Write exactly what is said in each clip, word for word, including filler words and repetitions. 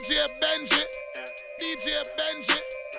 J Benji, D J Benji,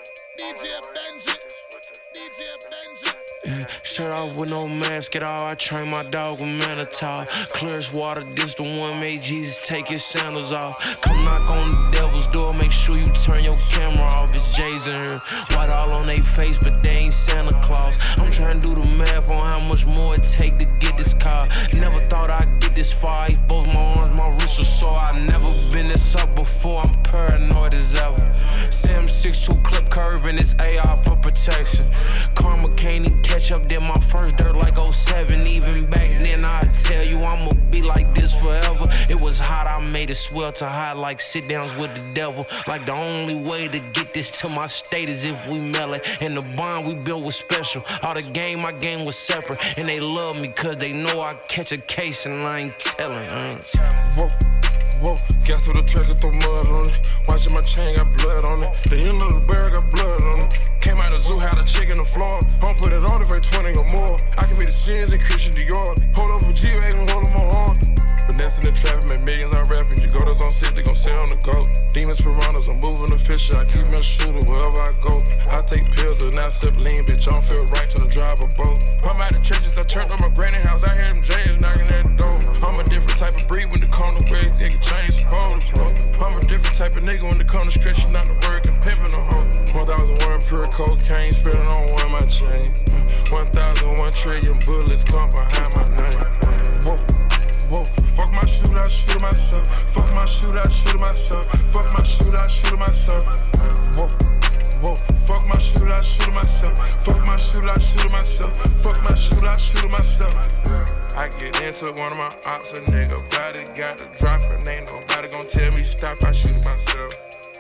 D J Benji, D J Benji. Yeah, shirt off with no mask at all. I train my dog with Manitow. Clear as water, this the one made Jesus take his sandals off. Come knock on the devil's door, make sure you turn your camera off. It's Jay's in here. White all on they face, but they ain't Santa Claus. I'm trying to do the math on how much more it take to get this car. Never thought I'd get this far. I both my arms, my wrists are sore. I never been this up before. I'm paranoid as ever. Sam six two clip curve and it's A R for protection. Karma can't even catch up. Did my first dirt like oh seven. Even back then I'd tell you I'ma be like this forever. It was hot, I made it swell to hot like sit downs with the devil. Like the only way to get this to my state is if we mail it. And the bond we built was special. All the game, my game was separate. And they love me cause they know I catch a case and I ain't telling. Mm. Whoa, whoa, gas with the trigger, throw mud on it. Watching my chain, got blood on it. The end of the barrel got blood on it. Came out the zoo, had a chick in the floor. Don't put it on if it's twenty or more. I can be the sins and Christian Dior. Hold up with G-Wagon, hold up my arm. Finessing and trapping, make millions, I'm rapping. You go, those on sit, they gon' sit on the go. Demons, piranhas, I'm moving the fisher. I keep me a shooter wherever I go. I take pills and I sip lean, bitch. I don't feel right till I drive a boat. I'm out the trenches, I turned on my granny house. I hear them J's knocking at the door. I'm a different type of breed when the corner ways, nigga change supposed to bro. I'm a different type of nigga when the corner stretching out the work and pimping a hoe. one thousand one pure cocaine, spilling on one my chain. one thousand one trillion bullets come behind my name. Whoa. Whoa, fuck my shooter, I shoot myself. Fuck my shooter, I shoot myself. Fuck my shooter, I shoot myself. Whoa, whoa, fuck my shooter, I shoot myself. Fuck my shooter, I shoot myself. Fuck my shooter, I shoot myself. I get into one of my ops, a nigga body got to drop it. Ain't nobody gon' tell me stop, I shoot myself.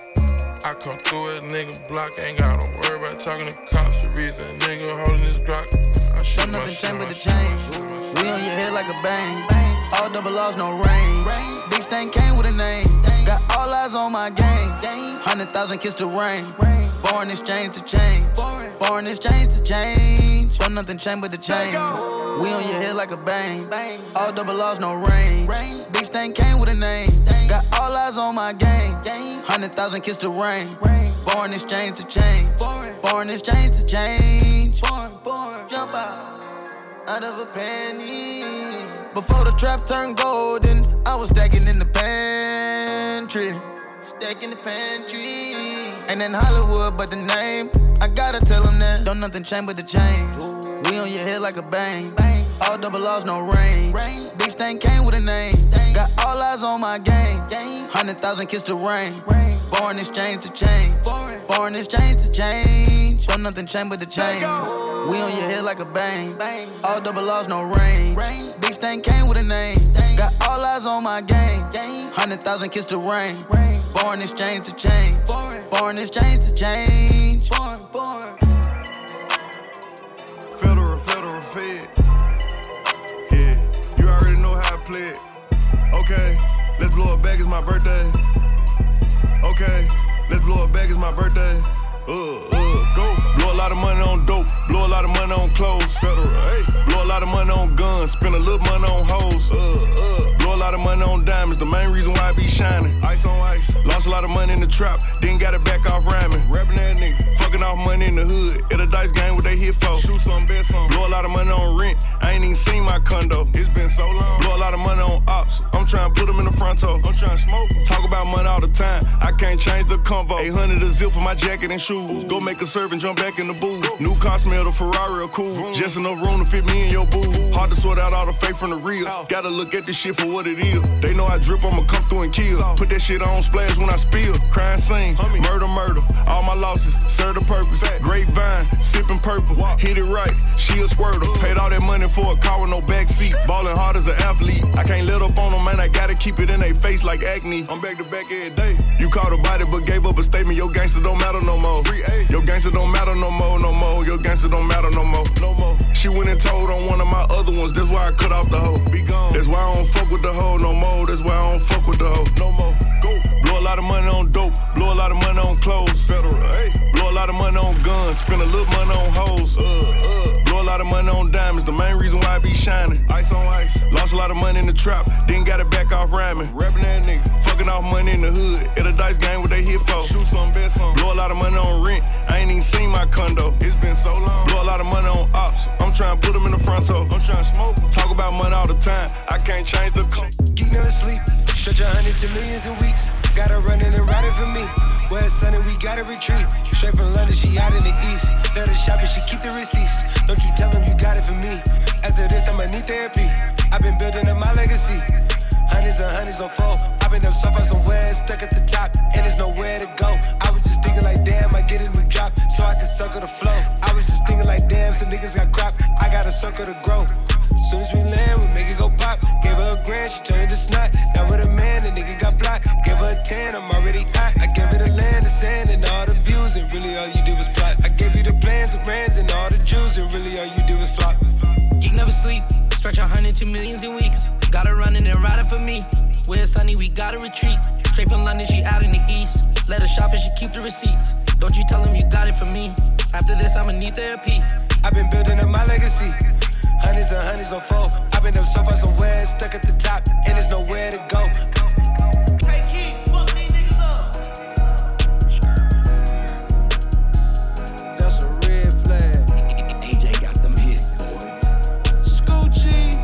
I come through it, nigga block, ain't gotta worry about talking to cops. The reason nigga holding this Glock, I shoot nothing myself. change but the change. We on your head like a bang. All double laws, no rain. Big stain came with a name. Got all eyes on my game. Hundred thousand kiss the rain. Foreign exchange to change. Foreign exchange to change. Don't nothing change but the change. We on your head like a bang. All double laws, no rain. Big stain came with a name. Got all eyes on my game. Hundred thousand kiss the rain. Foreign exchange to change. Foreign exchange to change. Jump out. Out of a penny. Before the trap turned golden, I was stacking in the pantry. Stacking the pantry. Ain't in Hollywood, but the name, I gotta tell them that. Don't nothing change but the change. We on your head like a bang. All double laws, no range. Big stain came with a name. Got all eyes on my game. Hundred thousand kiss the rain. Foreign exchange to change. Foreign exchange to change. Don't nothing change but the change. We on your head like a bang. All double laws, no range. Big stain came with a name. Got all eyes on my game. Hundred thousand kiss the rain. Foreign exchange to change. Foreign exchange to change. Federal, federal fed. Yeah, you already know how I play it. Okay, let's blow it back, it's my birthday. Okay, let's blow it back, it's my birthday. Uh, uh, go. Blow a lot of money on dope, blow a lot of money on clothes. Federal, hey. Blow a lot of money on guns, spend a little money on hoes. Uh, uh. Blow a lot of money on diamonds, the main reason why I be shining. Ice on ice. Lost a lot of money in the trap, then got it back off rhyming. Rapping that nigga, fucking off money in the hood. At a dice game, what they hit for? Shoot some, bet some. Blow a lot of money on rent, I ain't even seen my condo. It's been so long. Blow a lot of money on ops, I'm trying to put them in the front toe. I'm trying to smoke. Talk about money all the time, I can't change the convo. eight hundred a zip for my jacket and shoes. Go make a serve and jump back in the booth. New car smell, the Ferrari are cool. Just enough room to fit me and your boo. Hard to sort out all the fake from the real. Gotta look at this shit for what it is. They know I drip, I'ma come through and kill. Put that shit on splash when I spill. Crime scene, murder, murder. All my losses serve the purpose. Grapevine, sipping purple. Hit it right, she a squirter. Paid all that money for a car with no backseat. Ballin' hard as an athlete. I can't let up on them, man. I gotta keep it in their face like acne. I'm back to back every day. You caught a body but gave up a statement. Your gangster don't matter no more. Your gangster don't matter no more, no more. Your gangster don't matter no more, no more. She went and told on one of my other ones. That's why I cut off the hoe. Be gone. That's why I don't fuck with the hoe no more. That's why I don't fuck with the hoe no more. Go. Blow a lot of money on dope. Blow a lot of money on clothes. Federal. Hey. Blow a lot of money on guns. Spend a little money on hoes. Uh, uh. Blow a lot of money on diamonds. The main reason why I be shining. Ice on ice. Lost a lot of money in the trap. Then got it back off rhyming. Rapping that nigga. Fucking off money in the hood, at a dice game, what they here for? Shoot some, bet some. Blow a lot of money on rent, I ain't even seen my condo. It's been so long. Blow a lot of money on ops, I'm trying to put them in the front toe. I'm trying to smoke, talk about money all the time. I can't change the code. Geek never sleep, stretch a hundred to millions in weeks. Gotta run in and ride it for me. Where it's sunny, we gotta retreat. Straight from London, she out in the east. Let her shop and she keep the receipts. Don't you tell them you got it for me. After this, I'ma need therapy. I've been building up my legacy. Hundreds and hundreds on four. I've been up so far somewhere, stuck at the top, and there's nowhere to go. I was just thinking like, damn, I get a new drop, so I can circle the flow. I was just thinking like, damn, some niggas got crop, I got a circle to grow. Soon as we land, we make it go pop. Gave her a grand, she turned it to snot. Now with a man, the nigga got blocked. Gave her a ten, I'm already hot. I gave her the land, the sand, and all the views, and really all you did was plot. I gave you the plans, the brands, and all the jewels, and really all you did was flop. Geek never sleep, stretch a hundred to millions in weeks. Gotta run in and ride it for me. When it's sunny, we gotta retreat. Straight from London, she out in the east. Let her shop and she keep the receipts. Don't you tell them you got it from me. After this, I'ma need therapy. I've been building up my legacy. Hundreds and hundreds on four. I've been up so far somewhere, stuck at the top, and there's nowhere to go. Hey, Keith, fuck these niggas up. That's a red flag. A J got them hits, boy. Scoochie.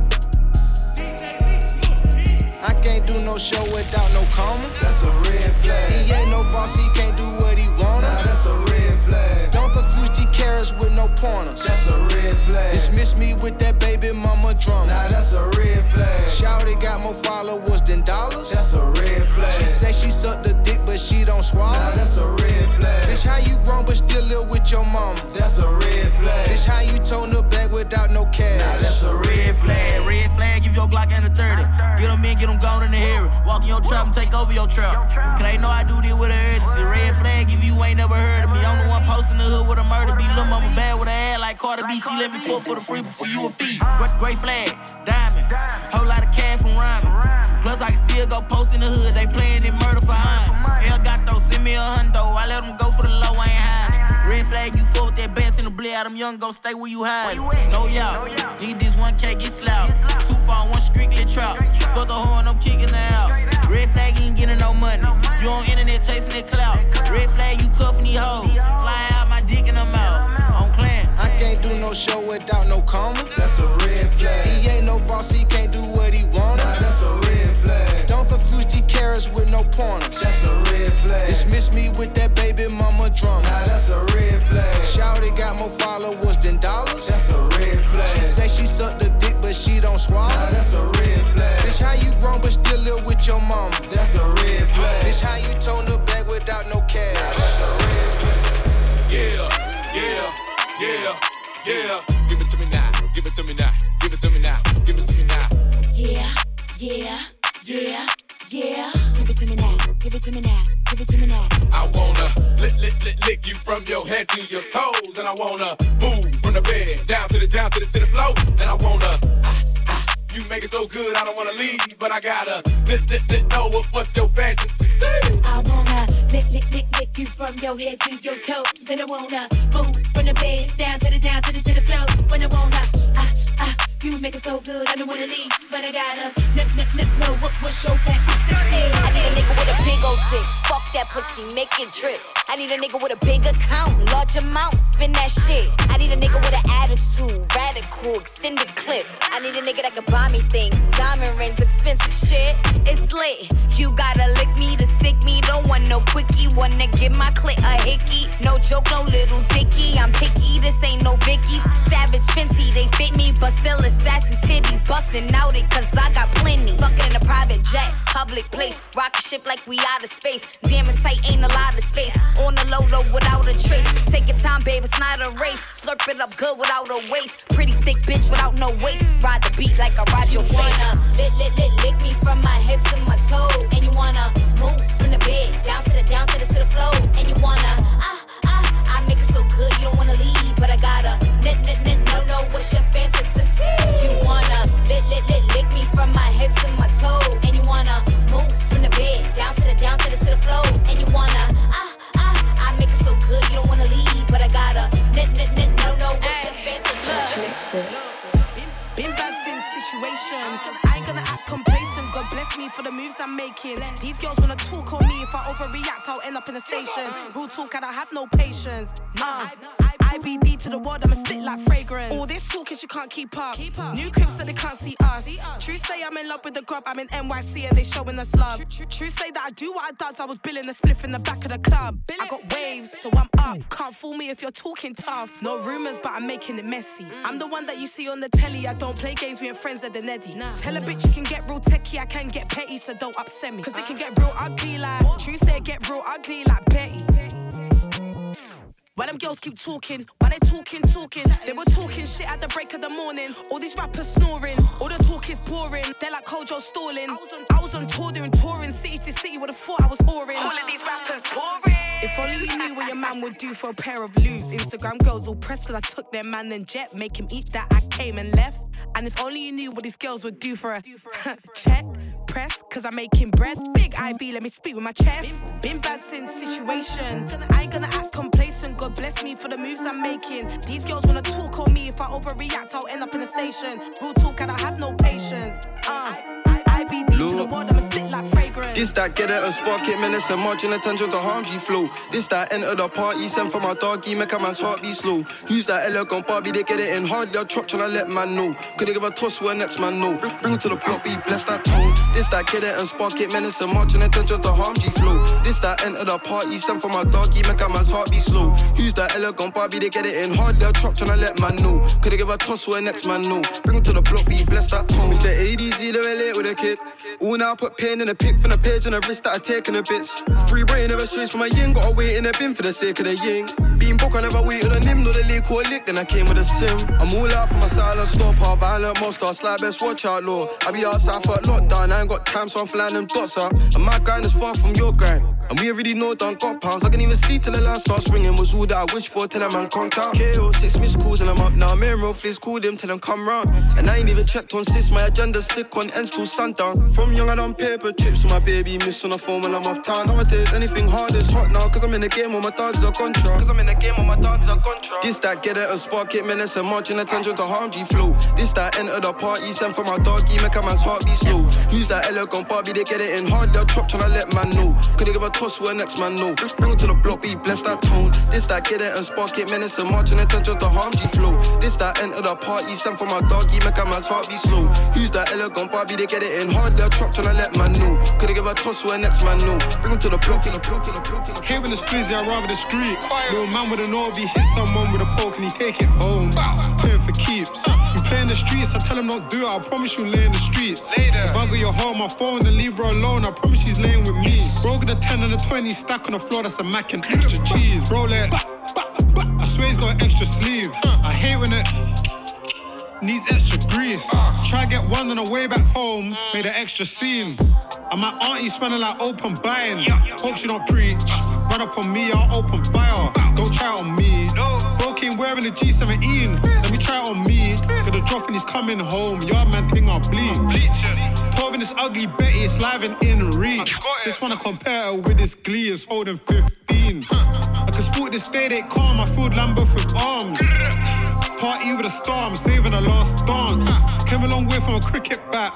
I can't do no show without no comma. That's a red flag. He ain't no boss, he can't do what he wanna. Nah, that's a red flag. Don't confuse G carrots with no pointers. That's a red flag. Dismiss me with that baby mama drama. Nah, that's a red flag. Shawty got more followers than dollars. That's a red flag. She say she sucked the dick, but she don't swallow. Nah, that's a red flag. Bitch, how you grown but still live with your mama? That's a red flag. Bitch, how you tone the bag without no cash? Nah, that's a red flag. Red flag, give your Glock and a thirty. Get them in, get them gone in the area. Walk in your trap and take over your trap. Cause they know I do this with a urgency. Red flag, if you ain't never heard of me. I'm the one posting the hood with a murder beat. Lil' mama bad with her ass like Carter B. She let me fuck for the free before you a fee. Great flag, diamond. Whole lot of cash from rhyming. Plus I can still go post in the hood. They playing in murder for high. El Gato, send me a hundo. I let them go for the low, I ain't hiding. Red flag, you fuck with that bass in the blade. Them young go stay where you hide. No y'all, need this one K, get slapped. Two far, one strictly trap. Fuck the horn, I'm kicking her out. Red flag, you ain't getting no money. You on internet chasing that clout. Red flag, you cuffing these hoes. Fly out my dick in them out. I'm playing. I can't do no show without no comma. That's a red flag. He ain't no boss, he can't do what he wanna. Nah, that's a red flag. Don't confuse G carrots with no pointers. That's a red flag. Dismiss me with that baby mama drama. Nah, that's a red flag. Shawty got more followers than dollars. That's a red flag. She say she sucked the dick, but she don't swallow. Nah, that's a red flag. Bitch, how you grown but still live with your mama? That's a red flag. Bitch, how you tone the bag without no cash? Nah, that's a red flag. Yeah, yeah, yeah, yeah. Give it to me now, give it to me now, give it to me now, give it to me now. Yeah, yeah, yeah, yeah. Give it to me now, give it to me now, give it to me now. I wanna lick, lick, lick, lick you from your head to your toes, and I wanna move from the bed down to the down to the to the floor, and I wanna. Ah, ah, you make it so good, I don't wanna leave, but I gotta lick, lick, lick, know what, what's your fantasy. I wanna lick, lick, lick, lick you from your head to your toes, and I wanna move from the bed down to the down to the to the floor, when I wanna. Ah, ah, you make it so good, I don't wanna leave, but I gotta nip, nip, nip, know what, what's your fantasy. I need a nigga with a big old dick. Fuck that pussy, make it drip. I need a nigga with a big account, large amount, spin that shit. I need a nigga with an attitude, radical, extended clip. I need a nigga that can buy me things, diamond rings, expensive shit. It's lit. You gotta lick me to stick me. Don't want no quickie, wanna give my clit a hickey. No joke, no little dicky. I'm picky, this ain't no Vicky. Savage Fenty, they fit me, but still assassin titties. Bustin' out it, cause I got plenty. Fucking in a private jet, public place. Rocket ship like we out of space. Damn, it's tight, ain't a lot of space. On the low though, without a trace. Take your time, babe, it's not a race. Slurp it up good without a waist. Pretty thick bitch without no waist. Ride the beat like I ride your face. You wanna lick, lick, lick, lick me from my head to my toes. And you wanna move from the bed down to the, down to the, to the floor. And you wanna, ah, ah, I make it so good you don't wanna leave. But I gotta, nit, nit, nit, no, no, what's your fantasy? You wanna lick, lick, lick, lick me from my head to my toes. And you wanna move from the bed down to the, down to the, to the floor. And you wanna, ah, I make it so good you don't wanna leave, but I gotta nit, nit, nit, no, no, what's your fantasy? Been bad since situation. I ain't gonna act complacent. God bless me me for the moves I'm making. These girls wanna talk on me. If I overreact, I'll end up in a station. Real talk, I don't have no patience. Uh, I B D to the world, I'ma sit like fragrance. All this talking, she can't keep up. New cribs so they can't see us. True say I'm in love with the grub, I'm in N Y C and they showing us love. True say that I do what I does, I was billing a spliff in the back of the club. I got waves, so I'm up. Can't fool me if you're talking tough. No rumours, but I'm making it messy. I'm the one that you see on the telly. I don't play games, we ain't friends at the Neddy. Tell a bitch you can get real techie, I can get petty, so don't upset me. Cause it can get real ugly like True say it get real ugly like Betty. Why them girls keep talking? Why they talking, talking? They were talking shit at the break of the morning. All these rappers snoring. All the talk is boring. They're like Kojo stalling. I was on, I was on tour doing touring city to city. Would've thought I was whoring. All of these rappers boring. If only you knew what your man would do for a pair of lubes. Instagram girls all pressed cause I took their man and jet. Make him eat that, I came and left. And if only you knew what these girls would do for a check. Press, cause I'm making bread. Big I B, let me speak with my chest. Been bad since situation. I ain't gonna act complacent. God bless me for the moves I'm making. These girls wanna talk on me. If I overreact, I'll end up in a station. Real talk, and I have no patience. Uh, I B D to the world, I'ma sit like fragrance. This that get it and spark it, menace and marching attention to harm G flow. This that enter the party, send for my doggy, make a man's heart be slow. Use that elegant Barbie, they get it in hard. They're chopped tryna let man know. Could they give a toss where next man know? Bring, bring to the plot, be bless that tone. This that get it and spark it, menace and marching attention to harm G flow. This that enter the party, send for my doggy, make a man's heart be slow. Use that elegant Barbie, they get it in hard. They're chopped tryna let man know. Could they give a toss where next man know? Bring to the plot, be bless that tone. Mister A D Z, they relate with a kid. Ooh, now I put pain in a pic from the page on the wrist that I taken a bits. Free brain never strays from my yin, gotta wait in a bin for the sake of the yin. Being broke, I never waited on him, no the leak or lick, then I came with a sim. I'm all out for my silent stop, our violent monster, slide best watch out, law. I be outside for a lockdown, I ain't got time, so I'm flying them dots up. And my grind is far from your grind. And we already know done got pounds. I can even sleep till the line starts ringing. Was all that I wish for till a man conked out. K O six missed calls and I'm up now. Me and Rolflays called him till them come round. And I ain't even checked on sis. My agenda's sick on ends till sundown. From young I done paper trips with my baby. Miss on the phone when I'm off town. Nowadays anything hard is hot now. Cause I'm in the game with my dogs are contra. Cause I'm in the game with my dogs are contra. This that get it and spark it. Menace and marching attention to harm G flow. This that enter the party. Send for my doggy. Make a man's heart be slow. Use that elegant Barbie. They get it in hard. They're chopped tryna let man know. Could they give a toss where next man know? Bring it to the block, be bless that tone. This that get it and spark it, menace and marching attention to harm G flow. This that enter the party, send for my doggy, make a man's heart be slow. Use that elegant Barbie, they get it in hard, they're chopped tryna let man know. Could they give a toss where next man know? Bring it to the block, to the block, to the block, to the block. Hey, when it's flizzy, I'd rather the street. Little man with an O B hit someone with a poke and he take it home. Playing for keeps. You play in the streets, I tell him not do it, I promise you lay in the streets. Later. If I got your home, my phone, then leave her alone, I promise she's laying with me. Bro, get the ten and the twenty stack on the floor, that's a mac and extra cheese. Rolex, I swear he's got an extra sleeve. I hate when it needs extra grease. Try get one on the way back home, made an extra scene. And my auntie smelling like open buying. Hope she don't preach. Run up on me, I'll open fire. Don't try it on me. Bro came wearing a G seventeen. Let me try it on me. Got a drop and he's coming home. Yard man thing I'll bleed. twelve in this ugly Betty, it's live and in reach. Just wanna compare her with this Glee, is holding fifteen. I can sport this day, they calm. I filled Lambeth with arms. Party with a star, I'm saving the last dance. Came a long way from a cricket bat.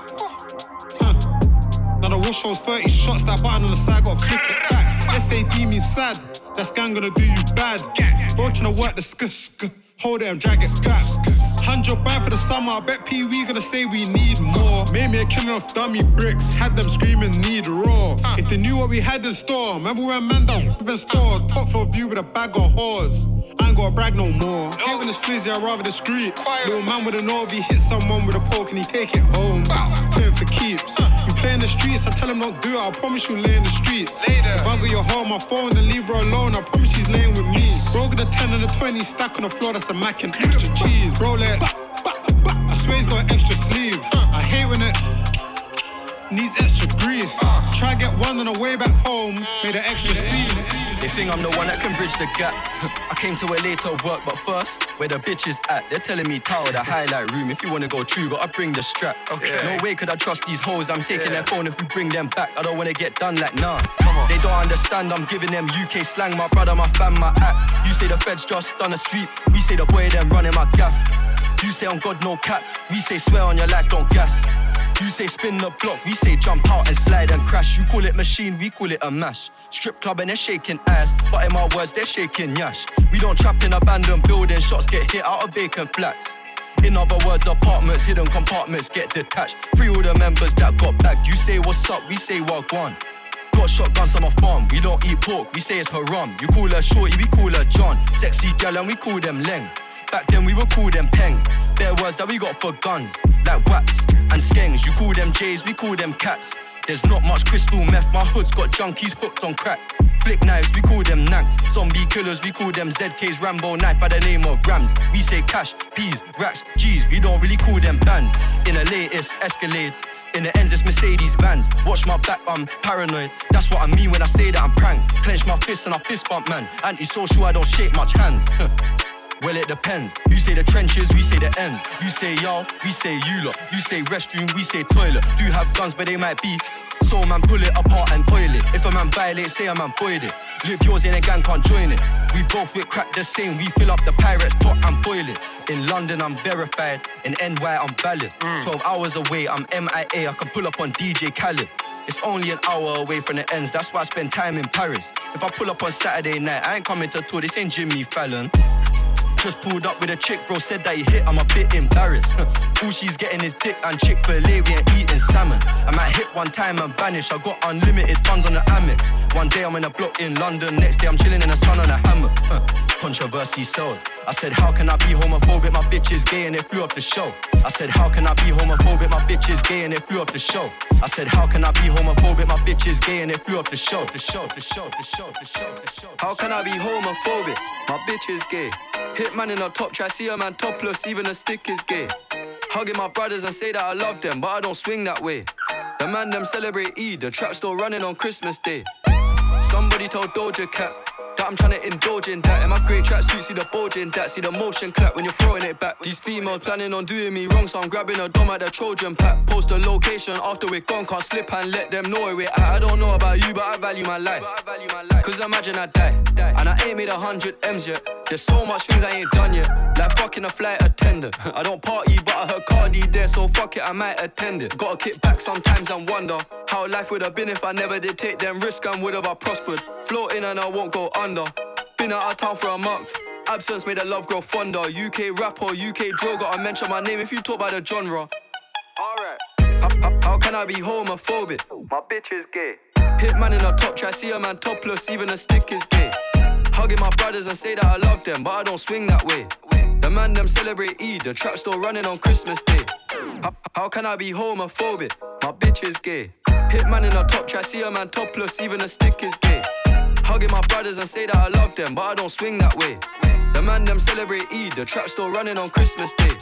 Now the wash shows thirty shots, that button on the side, gotta flick it back. S A D means sad, that gang gonna do you bad. Bro tryna work the sk sk, hold it and drag it back. Hundred band for the summer, I bet Pee Wee gonna say we need more. Made me a killing of dummy bricks, had them screaming need raw. If they knew what we had in store, remember when man down been store. Top floor view with a bag of whores. I ain't gotta brag no more. Hate when it's flizzy, I'd rather the street. Little man with an O B hit someone with a poke and he take it home. Playing for keeps. You play in the streets, I tell him not do it, I promise you lay in the streets. Later. If I got your home, my phone, then leave her alone, I promise she's laying with me. Bro, get the ten and the twenty stack on the floor, that's a mac and extra cheese. Rolex, I swear he's got an extra sleeve. I hate when it needs extra grease. Try get one on the way back home, made an extra scene. They think I'm the one that can bridge the gap. I came to L A to work, but first, where the bitches at? They're telling me Tower, the highlight room. If you wanna go true, gotta bring the strap. Okay. No way could I trust these hoes. I'm taking yeah. their phone if we bring them back. I don't wanna get done like nah. Come on. They don't understand. I'm giving them U K slang. My brother, my fam, my act. You say the feds just done a sweep. We say the boy them running my gaff. You say on God no cap. We say swear on your life, don't gas. You say spin the block, we say jump out and slide and crash. You call it machine, we call it a mash. Strip club and they're shaking ass, but in my words they're shaking yash. We don't trap in abandoned buildings, shots get hit out of vacant flats. In other words, apartments, hidden compartments get detached. Free all the members that got bagged. You say what's up, we say wagwan. Got shotguns on my farm, we don't eat pork, we say it's haram. You call her shorty, we call her John. Sexy gal and we call them Leng. Back then we would call them Peng. Bare words that we got for guns, like wax and skengs. You call them J's, we call them cats. There's not much crystal meth, my hood's got junkies hooked on crack. Flick knives, we call them nanks. Zombie killers, we call them Z K's Rambo knife by the name of grams. We say cash, P's, racks, G's, we don't really call them bands. In the latest Escalades, in the ends it's Mercedes vans. Watch my back, I'm paranoid. That's what I mean when I say that I'm prank. Clench my fists and I fist bump man. Anti-social, I don't shake much hands. Well, it depends. You say the trenches, we say the ends. You say y'all, we say you lot. You say restroom, we say toilet. Do have guns, but they might be. So man, pull it apart and oil it. If a man violates, say a man void it. Live yours in a gang, can't join it. We both with crack the same. We fill up the pirates pot and boil it. In London, I'm verified. In N Y, I'm valid. Mm. twelve hours away, I'm M I A. I can pull up on D J Khaled. It's only an hour away from the ends. That's why I spend time in Paris. If I pull up on Saturday night, I ain't coming to tour. This ain't Jimmy Fallon. Just pulled up with a chick, bro, said that he hit, I'm a bit embarrassed. All she's getting is dick and Chick-fil-A, we ain't eating salmon. I might hit one time and vanish, I got unlimited funds on the Amex. One day I'm in a block in London, next day I'm chilling in the sun on a hammock. Controversy sells. I said, how can I be homophobic, my bitch is gay and it flew off the show. I said, how can I be homophobic, my bitch is gay and it flew off the show. I said, how can I be homophobic, my bitch is gay and it flew off the show. The show, the show, the show, the show, the show. How can I be homophobic, my bitch is gay. Hit man in a top try, see a man topless, even a stick is gay. Hugging my brothers and say that I love them, but I don't swing that way. The man them celebrate Eid, the trap still running on Christmas Day. Somebody told Doja Cat that I'm trying to indulge in that. In my great tracksuit, see the bulge in that. See the motion clap when you're throwing it back. These females planning on doing me wrong, so I'm grabbing a dom at the Trojan pack. Post the location after we're gone, can't slip and let them know where we're at. I don't know about you, but I value my life. Cause imagine I die, and I ain't made a hundred M's yet. There's so much things I ain't done yet, like fucking a flight attendant. I don't party, but I heard Cardi there, so fuck it, I might attend it. Gotta kick back sometimes and wonder how life would have been if I never did take them risks and would have I prospered. Floating and I won't go under. Been out of town for a month. Absence made the love grow fonder. U K rapper, U K drill, gotta mention my name if you talk about the genre. Alright. How, how, how can I be homophobic? My bitch is gay. Hit man in a top try, see a man topless, even a stick is gay. Hugging my brothers and say that I love them, but I don't swing that way. The man them celebrate Eid, the trap still running on Christmas Day. How, how can I be homophobic? My bitch is gay. Hit man in a top try, see a man topless, even a stick is gay. Hugging my brothers and say that I love them, but I don't swing that way. The man them celebrate Eid, the trap still running on Christmas Day.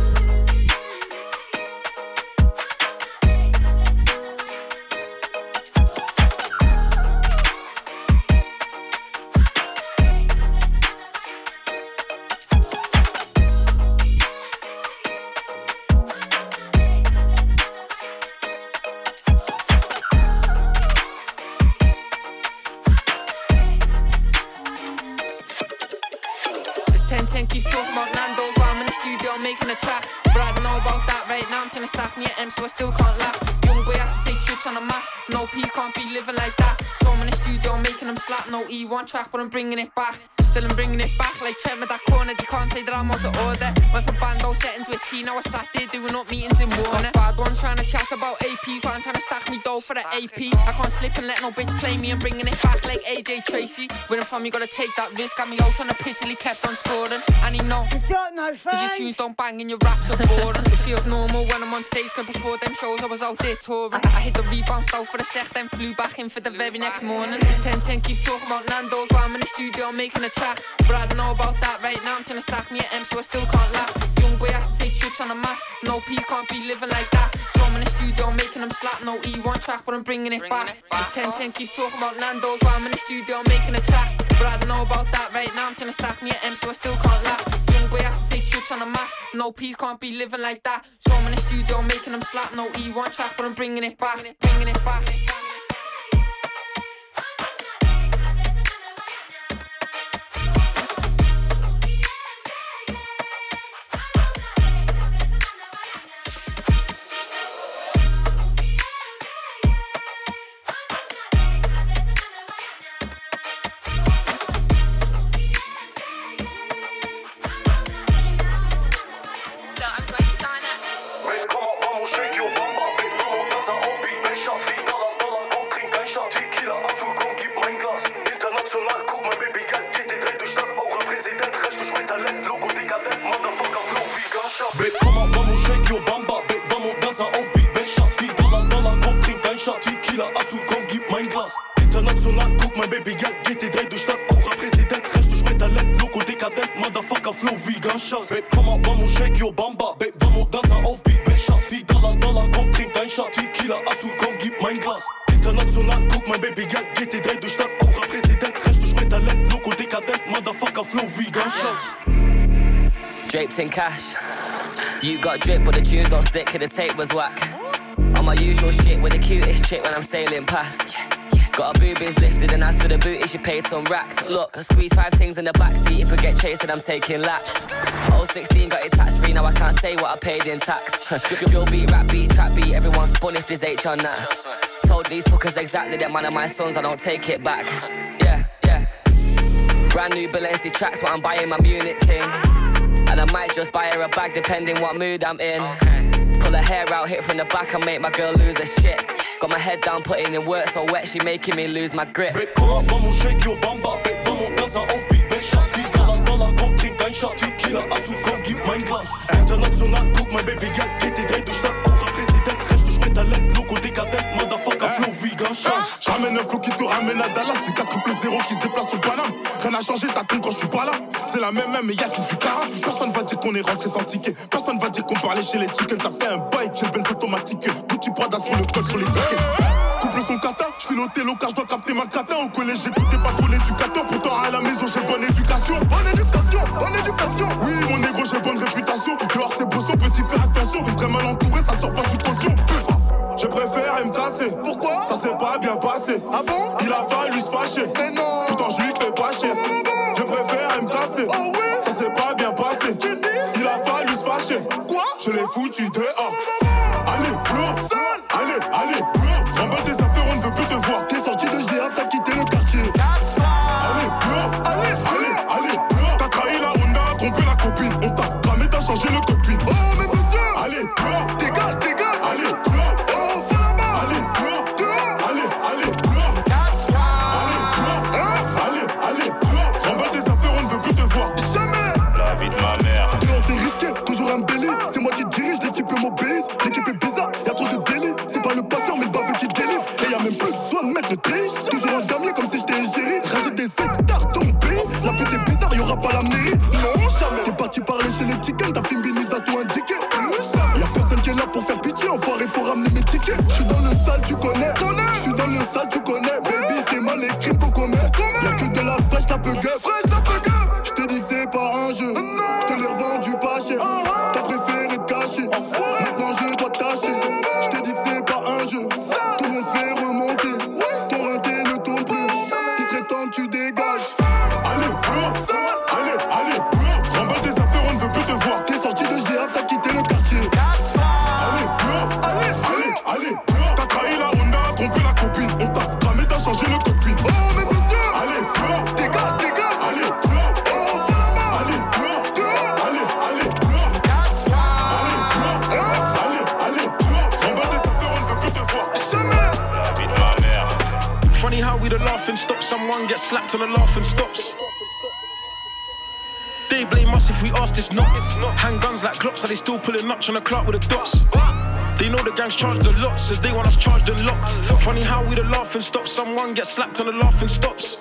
Keep talking about Nando's while I'm in the studio making a track. But I don't know about that right now, I'm trying to stack me at M, so I still can't laugh. Young boy had to take trips on the map. No P, can't be living like that. So I'm in the studio making them slap. No E one track, but I'm bringing it back. Still I'm bringing it back like Trent with that corner. You can't say that I'm out of order. Went from bando settings with T, now I sat there doing up meetings in Warner. Bad one trying to chat about A P, but I'm trying to stack me dough for the A P. I can't slip and let no bitch play me. I'm bringing it back like A J Tracy. Where I'm from, you gotta take that risk. Got me out on the pitch till he kept on scoring. And he know, you've got no face. Cause your tunes don't bang and your raps are boring. It feels normal when I'm on stage, cause before them shows I was out there touring. I hit the rebound style for the sec, then flew back in for the very next morning. It's ten ten, keep talking about Nando's while I'm in the studio making a track. But I don't know about that right now, I'm trying to stack me at M, so I still can't laugh. Young boy had to take trips on the map. No P, can't be living like that. So I'm in the studio making them slap. No E one track, but I'm bringing it back. It's ten ten, keep talking about Nando's while I'm in the studio making a track. But I don't know about that right now, I'm trying to stack me at M, so I still can't laugh. Young boy had to take trips on the map. No P, can't be living like that. So I'm in the studio making them slap. No E one track, but I'm bringing it back. Bringing it back. International, cook my baby girl, get it right, du Stadt, Aura Präsident, recht durch mein Talent, Loco dekadent, Motherfucker, Flow wie Gunshot. Babe, komm mal, vamos, shake your bamba, Babe, vamos, dansa auf Beat, Babe, Schatz, wie Dollar, Dollar, komm, trink dein Shot, Tequila, Asu, komm, gib mein Glas. International, cook my baby girl, get it right, du Stadt, Aura Präsident, recht durch mein Talent, Loco dekadent, Motherfucker, Flow wie Gunshot. Draped in cash, you got drip, but the tunes don't stick, cause the tape was whack. On my usual shit with the cutest chick when I'm sailing past. Got her boobies lifted and as for the booty she paid some racks. Look, I squeeze five things in the backseat. If we get chased then I'm taking laps. oh sixteen got it tax free, now I can't say what I paid in tax. Drill beat, rap beat, trap beat, everyone spun if there's H on that. Told these fuckers exactly that man of my sons, I don't take it back. Yeah, yeah. Brand new Balenci tracks, but I'm buying my Munich thing. And I might just buy her a bag depending what mood I'm in. Pull her hair out, hit from the back and make my girl lose her shit. Got my head down, putting in work so wet, she making me lose my grip. Babe, komm mal, vamos, shake your bamba, Babe, vamos, dansa auf Beat, Babe, Schatz, wie Dollar, Dollar, komm, trink dein Shot, Tequila, Asu, komm, gib mein Glas. International, guck my baby girl, geht die drei durch Stadt, Aura Präsident, recht durch mein Talent, Loco dekadent, Motherfucker, Flow wie Gunshot. J'ramène un flow qui te ramène à Dallas, c'est quatre triple zéro qui se déplace au Paname. Rien n'a changé, ça tombe quand je suis pas là. C'est la même même, mais y'a qui suis cara. Personne va dire qu'on est rentré sans ticket. Personne va dire qu'on parlait chez les chickens. Ça fait un bail, j'ai Benz automatique. Gucci Prada sur le col, sur les tickets. Couple son kata, j'file au télo car j'dois capter ma cata. Au collège j'écoutais pas trop l'éducateur. Pourtant à la maison j'ai bonne éducation. Bonne éducation, bonne éducation. Oui mon négro j'ai bonne réputation. Dehors c'est beau, son petit fais attention. Très mal entouré, ça sort pas sous caution. Je préfère me casser. Pourquoi? Ça s'est pas bien passé. Ah bon? Il a fallu se fâcher. Mais non. Pourtant je lui fais pas chier. Je préfère me casser. Oh oui? Ça s'est pas bien passé. Tu dis? Il a fallu se fâcher. Quoi? Je l'ai foutu dehors. Allez, dehors. Allez, allez, dehors. Remballe tes affaires, on ne veut plus te voir. T'es sorti de G F, t'as quitté le quartier. Allez, dehors. Allez, allez, allez, dehors. T'as trahi la Honda, trompé la copine. On t'a cramé, t'as changé le cockpit. Oh mais monsieur. Allez, dehors. Dégage, dégage. Allez, dehors. C'est moi qui dirige, l'équipe m'obéisse. L'équipe est bizarre, y'a trop de délits. C'est pas le pasteur mais le baveux qui délivre. Et y'a même plus besoin de mettre le triche. Toujours un damier comme si j'étais égérie. Rajoute des hectares dans mon pays. La pute est bizarre, y'aura pas la mairie. Non, jamais. T'es parti parler chez les chickens, ta fille Binis a tout indiqué. Y'a personne qui est là pour faire pitié. Enfoiré, faut ramener mes tickets. J'suis dans le sale, tu connais. J'suis dans le sale, tu connais. Baby, t'es mal, les crimes qu'on commet. Y'a que de la fraîche, t'as peu gueule. J'te dis que c'est pas un jeu. J'te l'ai revendu pas cher. T'as préféré te cacher. Maintenant je dois tâcher. J'te dis que c'est pas un jeu. Tout le monde fait remonter. Ton rinté ne tourne plus. Il serait temps que tu dégages. Allez, dehors. Allez, allez, dehors. Remballe tes affaires, on ne veut plus te voir. T'es sorti de G F, t'as quitté le quartier. Allez, dehors. Allez, allez, allez, dehors. T'as trahi la Honda, trompé la copine. On t'a cramé, t'as changé le cockpit. Oh mais monsieur. Allez, dehors. Dégage, dégage. Allez, dehors. Funny how we the laughing stock, someone gets slapped and the laughing stops. They blame us if we ask this not. Handguns like Glocks, are they still pulling up on the clock with the dots? They know the gang's charged a lot, so they want us charged and locked. Funny how we the laughing stock, someone gets slapped and the laughing stops.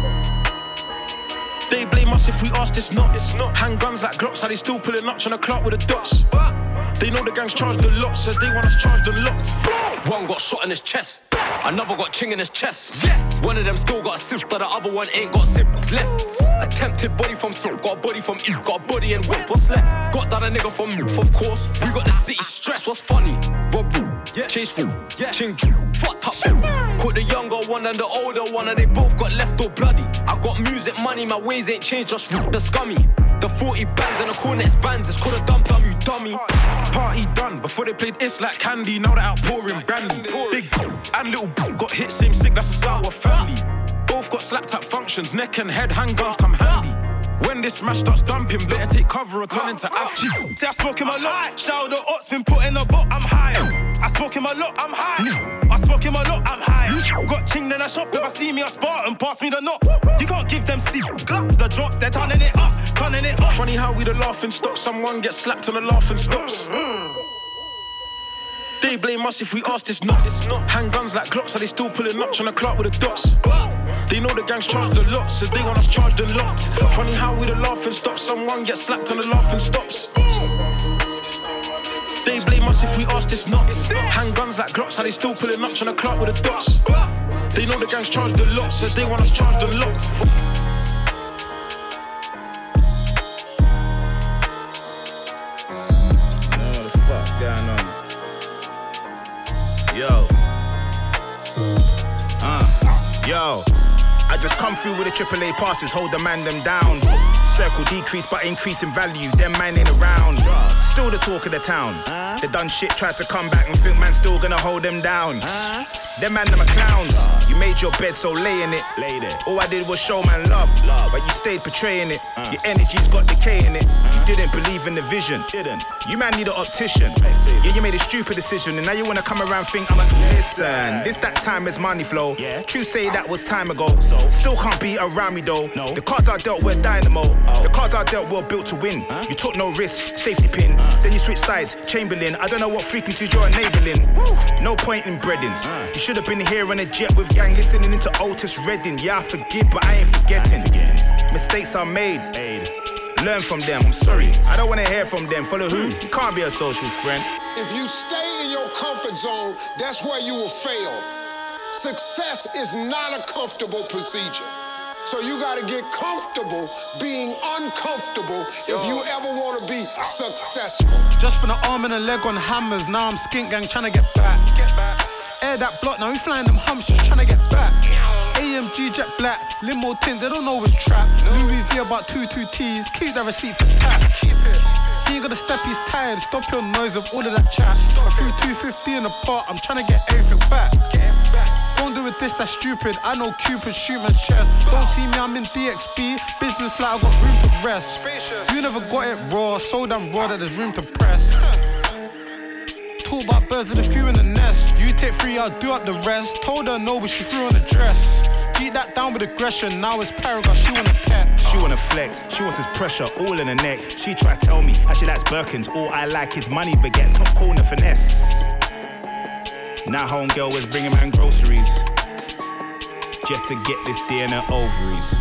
They blame us if we ask this not. Handguns like Glocks, are they still pulling up on the clock with the dots? They know the gang's charged a lot, so they want us charged and locked. One got shot in his chest, another got ching in his chest. Yes. One of them still got a sip, but the other one ain't got sips left. Attempted body from Silk, got a body from E, got a body and whip. What's left? Got down a nigga from Moof, of course. We got the city stress. What's funny? Rob yeah. Chase room, yeah. Ching fucked up. Caught the younger one and the older one, and they both got left all bloody. I got music money, my ways ain't changed, just the scummy. The forty bands and the Cornets bands, it's called a dump dumb, you dummy. Party done, before they played It's Like Candy, now they're outpouring brandy. Big and little got hit, same sick, that's a sour family. Both got slapped at functions, neck and head, handguns come handy. When this smash starts dumping, better take cover or turn into athletes. See, I smoke him a lot, shout the ops, been put in a box, I'm high. I smoke him a lot, I'm high. I smoke him a lot, I'm high. Got ching then I shop, if I see me a Spartan, pass me the knock. You can't give them C, the drop, they're turning it up, turning it up. Funny how we the laughing stock, someone gets slapped and the laughing stops. They blame us if we ask this not. Handguns like Glocks, are they still pulling up, trying to clock with the dots? They know the gang's charged a lot, so they want us charged a lot. Funny how we the laughing stock, someone gets slapped and the laughing stops. They blame us if we ask this not. Handguns like Glocks, are they still pulling up, trying to clock with the dots? They know the gang's charged a lot, so they want us charged a lot. Going on. Yo. Uh. Yo. I just come through with the triple A passes, hold the man them down. Circle decrease but increase in value, them man ain't around. Still the talk of the town. They done shit, tried to come back and think man still gonna hold them down. Them man them are clowns. You made your bed, so lay in it. Lay there. All I did was show man love, love. But you stayed portraying it. Uh. Your energy's got decay in it. Uh. You didn't believe in the vision. Didn't. You man need an optician. Yeah, you made a stupid decision, and now you wanna come around think I'm a listen. This that time is money flow. Yeah. True say that was time ago. So. Still can't be around me though. No. The cards I dealt were dynamo. Oh. The cards I dealt were built to win. Huh? You took no risk, safety pin. Uh. Then you switch sides, Chamberlain. I don't know what frequencies you're enabling. Woo. No point in breadings. Uh. You should have been here on a jet with gang listening into Otis Redding. Yeah, I forgive, but I ain't forgetting. Mistakes are made. Aid. Learn from them. I'm sorry, I don't want to hear from them. Follow who? You can't be a social friend. If you stay in your comfort zone, that's where you will fail. Success is not a comfortable procedure. So you gotta get comfortable being uncomfortable if you ever wanna be successful. Just spent an arm and a leg on hammers, now I'm skink gang trying to get back. Get back. Air that block, now we flying them humps just trying to get back. A M G jet black, limo tint, they don't know it's trap. Louis V about two two T's, keep that receipt for tax. Keep it. He ain't gotta step, he's tired, stop your noise of all of that chat. I threw two fifty in the pot, I'm trying to get everything back. Don't do it this, that's stupid. I know Cupid shoot man's chest. Don't see me, I'm in D X B. Business flat, I got room to rest. You never got it raw, so damn raw that there's room to press. Talk about birds of the few in the nest. You take three, I'll do up the rest. Told her no, but she threw on the dress. Beat that down with aggression, now it's paragraph, she wanna text. She wanna flex, she wants his pressure all in her neck. She try to tell me how she likes Birkins. All I like is money baguettes, top corner finesse. Now homegirl was bringing man groceries just to get this D in her ovaries.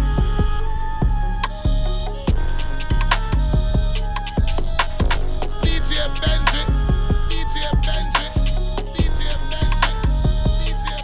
D J Benji, D J Benji, D J Benji, D J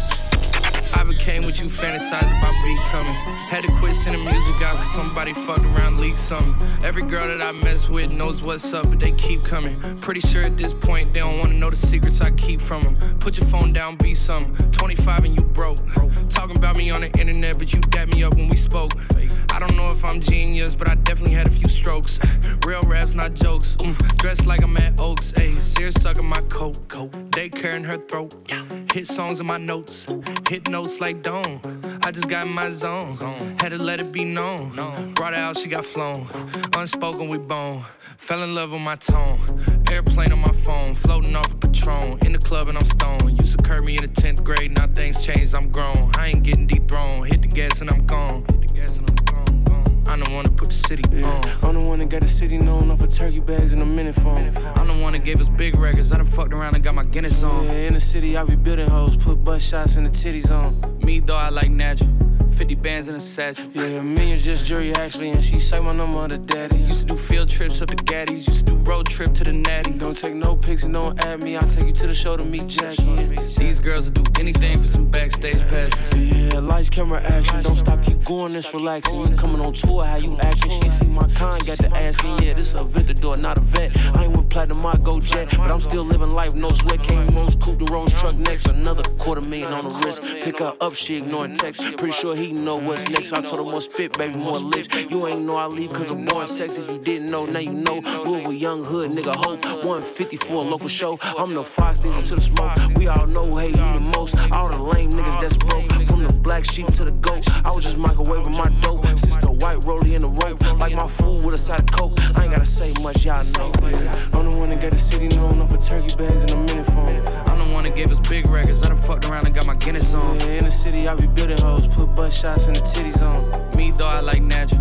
Benji. I became what you fantasize about becoming. Had to quit sending music out cause somebody fucked around, leaked something. Every girl that I mess with knows what's up, but they keep coming. Pretty sure at this point they don't wanna know the secrets I keep from them. Put your phone down, be something. twenty-five and you broke. Talking about me on the internet, but you dapped me up when we spoke. I don't know if I'm genius, but I definitely had a few strokes. Real raps, not jokes. Mm, dressed like I'm at Oaks. Ayy, Sears sucking my coat. Daycare in her throat. Hit songs in my notes. Hit notes like Dawn. I just got in my zone. Had to let it be known. Brought her out, she got flown. Unspoken, we bone. Fell in love with my tone. Airplane on my phone. Floating off a Patron. In the club and I'm stoned. Used to curb me in the tenth grade. Now things changed, I'm grown. I ain't getting dethroned. Hit the gas and I'm gone. Hit the gas and I'm gone. gone. I'm the one that put the city yeah. on. I'm the one that got the city known off of turkey bags and a minute phone. I'm the one that gave us big records. I done fucked around and got my Guinness on. Yeah, in the city, I be building hoes. Put butt shots in the titties on. Me, though, I like natural. fifty bands in a satchel. Yeah, me and just jury actually, and she say my number to daddy. Used to do field trips up to Gaddy's, used to do road trip to the Natty. Don't take no pics and don't add me, I'll take you to the show to meet Jackie. Yeah. These girls will do anything for some backstage passes. Yeah, lights, camera, action, don't stop, keep going, this relaxing. You coming on tour, how you acting? She see my kind, got to asking, yeah, this a Aventador, not a vet. I ain't with platinum, I go jet, but I'm still living life, no sweat. Came Rose, coupe the Rose truck next, another quarter million on the wrist. Pick her up, she ignoring text, pretty sure he know what's next. I told her more spit, baby, more lips. You ain't know I leave cause I'm born sex. If you didn't know, now you know. Move a young hood, nigga, hope. one fifty for a local show. I'm the fox nigga to the smoke. We all know hate me the most. All the lame niggas that's broke. From the black sheep to the goat. I was just microwaving my dope. Since the white rollie in the rope. Like my food with a side of coke. I ain't gotta say much, y'all know. I'm the one that got the city known off of turkey bags and a minute phone. I'm the one that gave us big records. I done fucked around and got my Guinness on. Yeah, in the city, I be building hoes. Put butt shots in the titties on. Me, though, I like natural.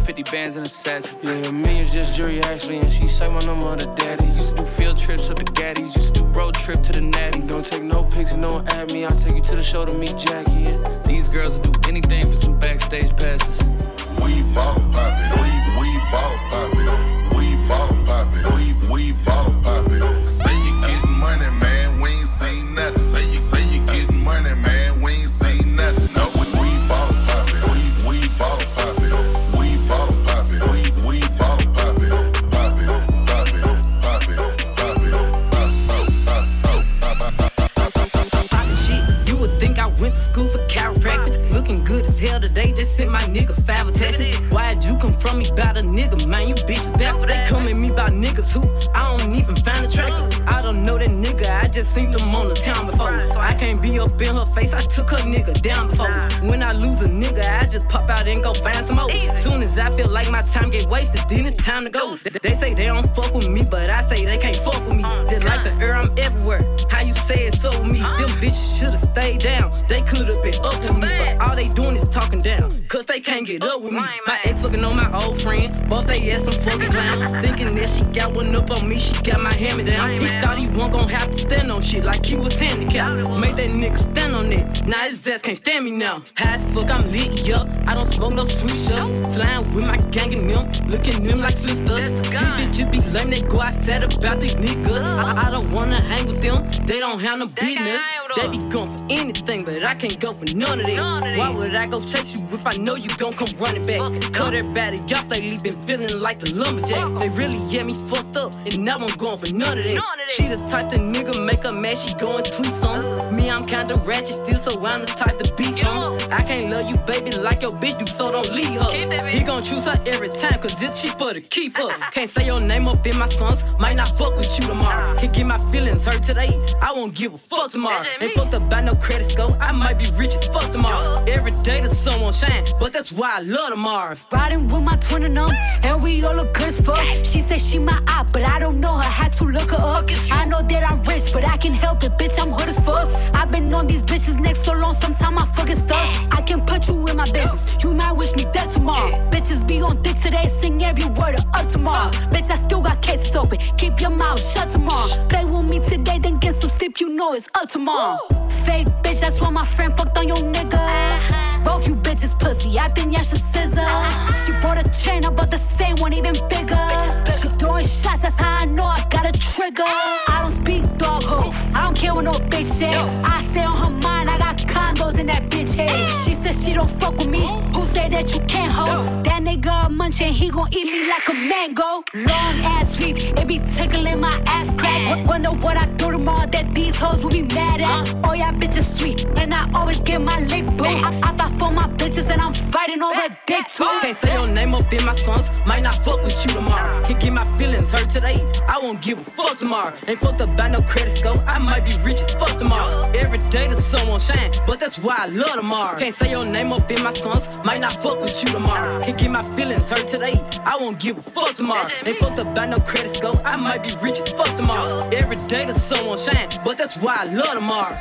fifty bands in a satchel. Yeah, me and just Jury actually, and she say my number to daddy. Used to do field trips with the gaddies, used to do road trip to the natty. Don't take no pics and don't add me, I'll take you to the show to meet Jackie. Yeah. These girls will do anything for some backstage passes. We ball poppin', we, we ball poppin', we ball poppin', we, we ball poppin'. Say you gettin' money, man, we ain't seen nothing. Say you, say you gettin' money, man, we ain't seen nothing. No, we, we ball poppin', we, we ball poppin', we ball poppin', we, we ball poppin', poppin', poppin', poppin', poppin', poppin' shit. You would think I went to school for chiropractic. Looking good as hell today, just sent my nigga five attachments. Why'd you come from me about a nigga, man? You bitch back for they come at me about niggas who I don't even find attractive. I don't know that nigga, I just seen them on the town before. I can't be up in her face, I took her nigga down before. When I lose a nigga, I just pop out and go find some more. Soon as I feel like my time get wasted, then it's time to go. They say they don't fuck with me, but I say they can't fuck with me. Just like the air, I'm everywhere. How you say it so with me? Them bitches should've stayed down. They could've been up to me, but all they doing is talking down, cause they can't get up with me. My ex fucking on my old friend, both they ass some fucking clowns. Thinking that she got one up on me, she got my hand down. He thought he wasn't gon' have to stand on shit like he was handicapped. Made that nigga stand on it, now his ass can't stand me now. High as fuck, I'm lit, yup, I don't smoke no sweet shots. Slime with my gang and them, looking at them like sisters. These bitches be lame, they go outside about these niggas. I, I don't wanna hang with them, they don't have no business. They be going for anything, but I can't go for none of that. Why would I go chase you if I know you gon' come running back? Cut everybody off, lately been feeling like the lumberjack. They really get me fucked up, and now I'm going for none of that. She the type the nigga make her mad, she go and tweet some. Me, I'm kinda ratchet still, so I'm the type to be some. I can't love you, baby, like your bitch do, so don't leave her. He gon' choose her every time, cause it's cheaper to keep her. Can't say your name up in my songs, might not fuck with you tomorrow. Can't get my feelings hurt today, I won't give a fuck tomorrow. Ain't fucked up by no credit score, I might be rich as fuck tomorrow. Every day the sun won't shine, but that's why I love tomorrow. Riding with my twin and them, and we all look good as fuck. She said she my eye, but I don't know her, had to look her up. I know that I'm rich, but I can help it, bitch, I'm hood as fuck. I've been on these bitches next so long, sometime I fucking stuck. I can put you in my business, you might wish me dead tomorrow. Bitches be on dick today, sing every word of up tomorrow. Bitch, I still got cases open, keep your mouth shut tomorrow. Play with me today, then get some sleep, you know it's up tomorrow. Fake bitch, that's why my friend fucked on your nigga. Both you bitches pussy, I think y'all should scissor. She brought a chain, I bought the same one, even bigger. She throwing shots, that's how I know I got a trigger. I don't speak dog ho, I don't care what no bitch say. I say on her mind, I got condos in that bitch head. She said she don't fuck with me, who say that you can't hold? That nigga a munchin', he gon' eat me like a mango. Long ass sweep, it be tickling my ass crack. Wonder what I do tomorrow that these hoes will be mad at. Oh yeah, bitches sweet, and I always get my lick boo. I, I fight for my bitches and I'm fighting over dick too. Can't say your name up in my songs, might not fuck with you tomorrow. Can't get my feelings hurt today, I won't give a fuck tomorrow. Ain't fucked up by no credit score, I might be rich as fuck tomorrow. Every day the sun won't shine, but that's why I love tomorrow. Can't say your name up in my songs, might not fuck with you tomorrow. Can't get my feelings hurt today, I won't give a fuck tomorrow. Ain't fucked up by no credit score, I might be rich as fuck tomorrow. Every day the sun won't shine, but that's why I love tomorrow.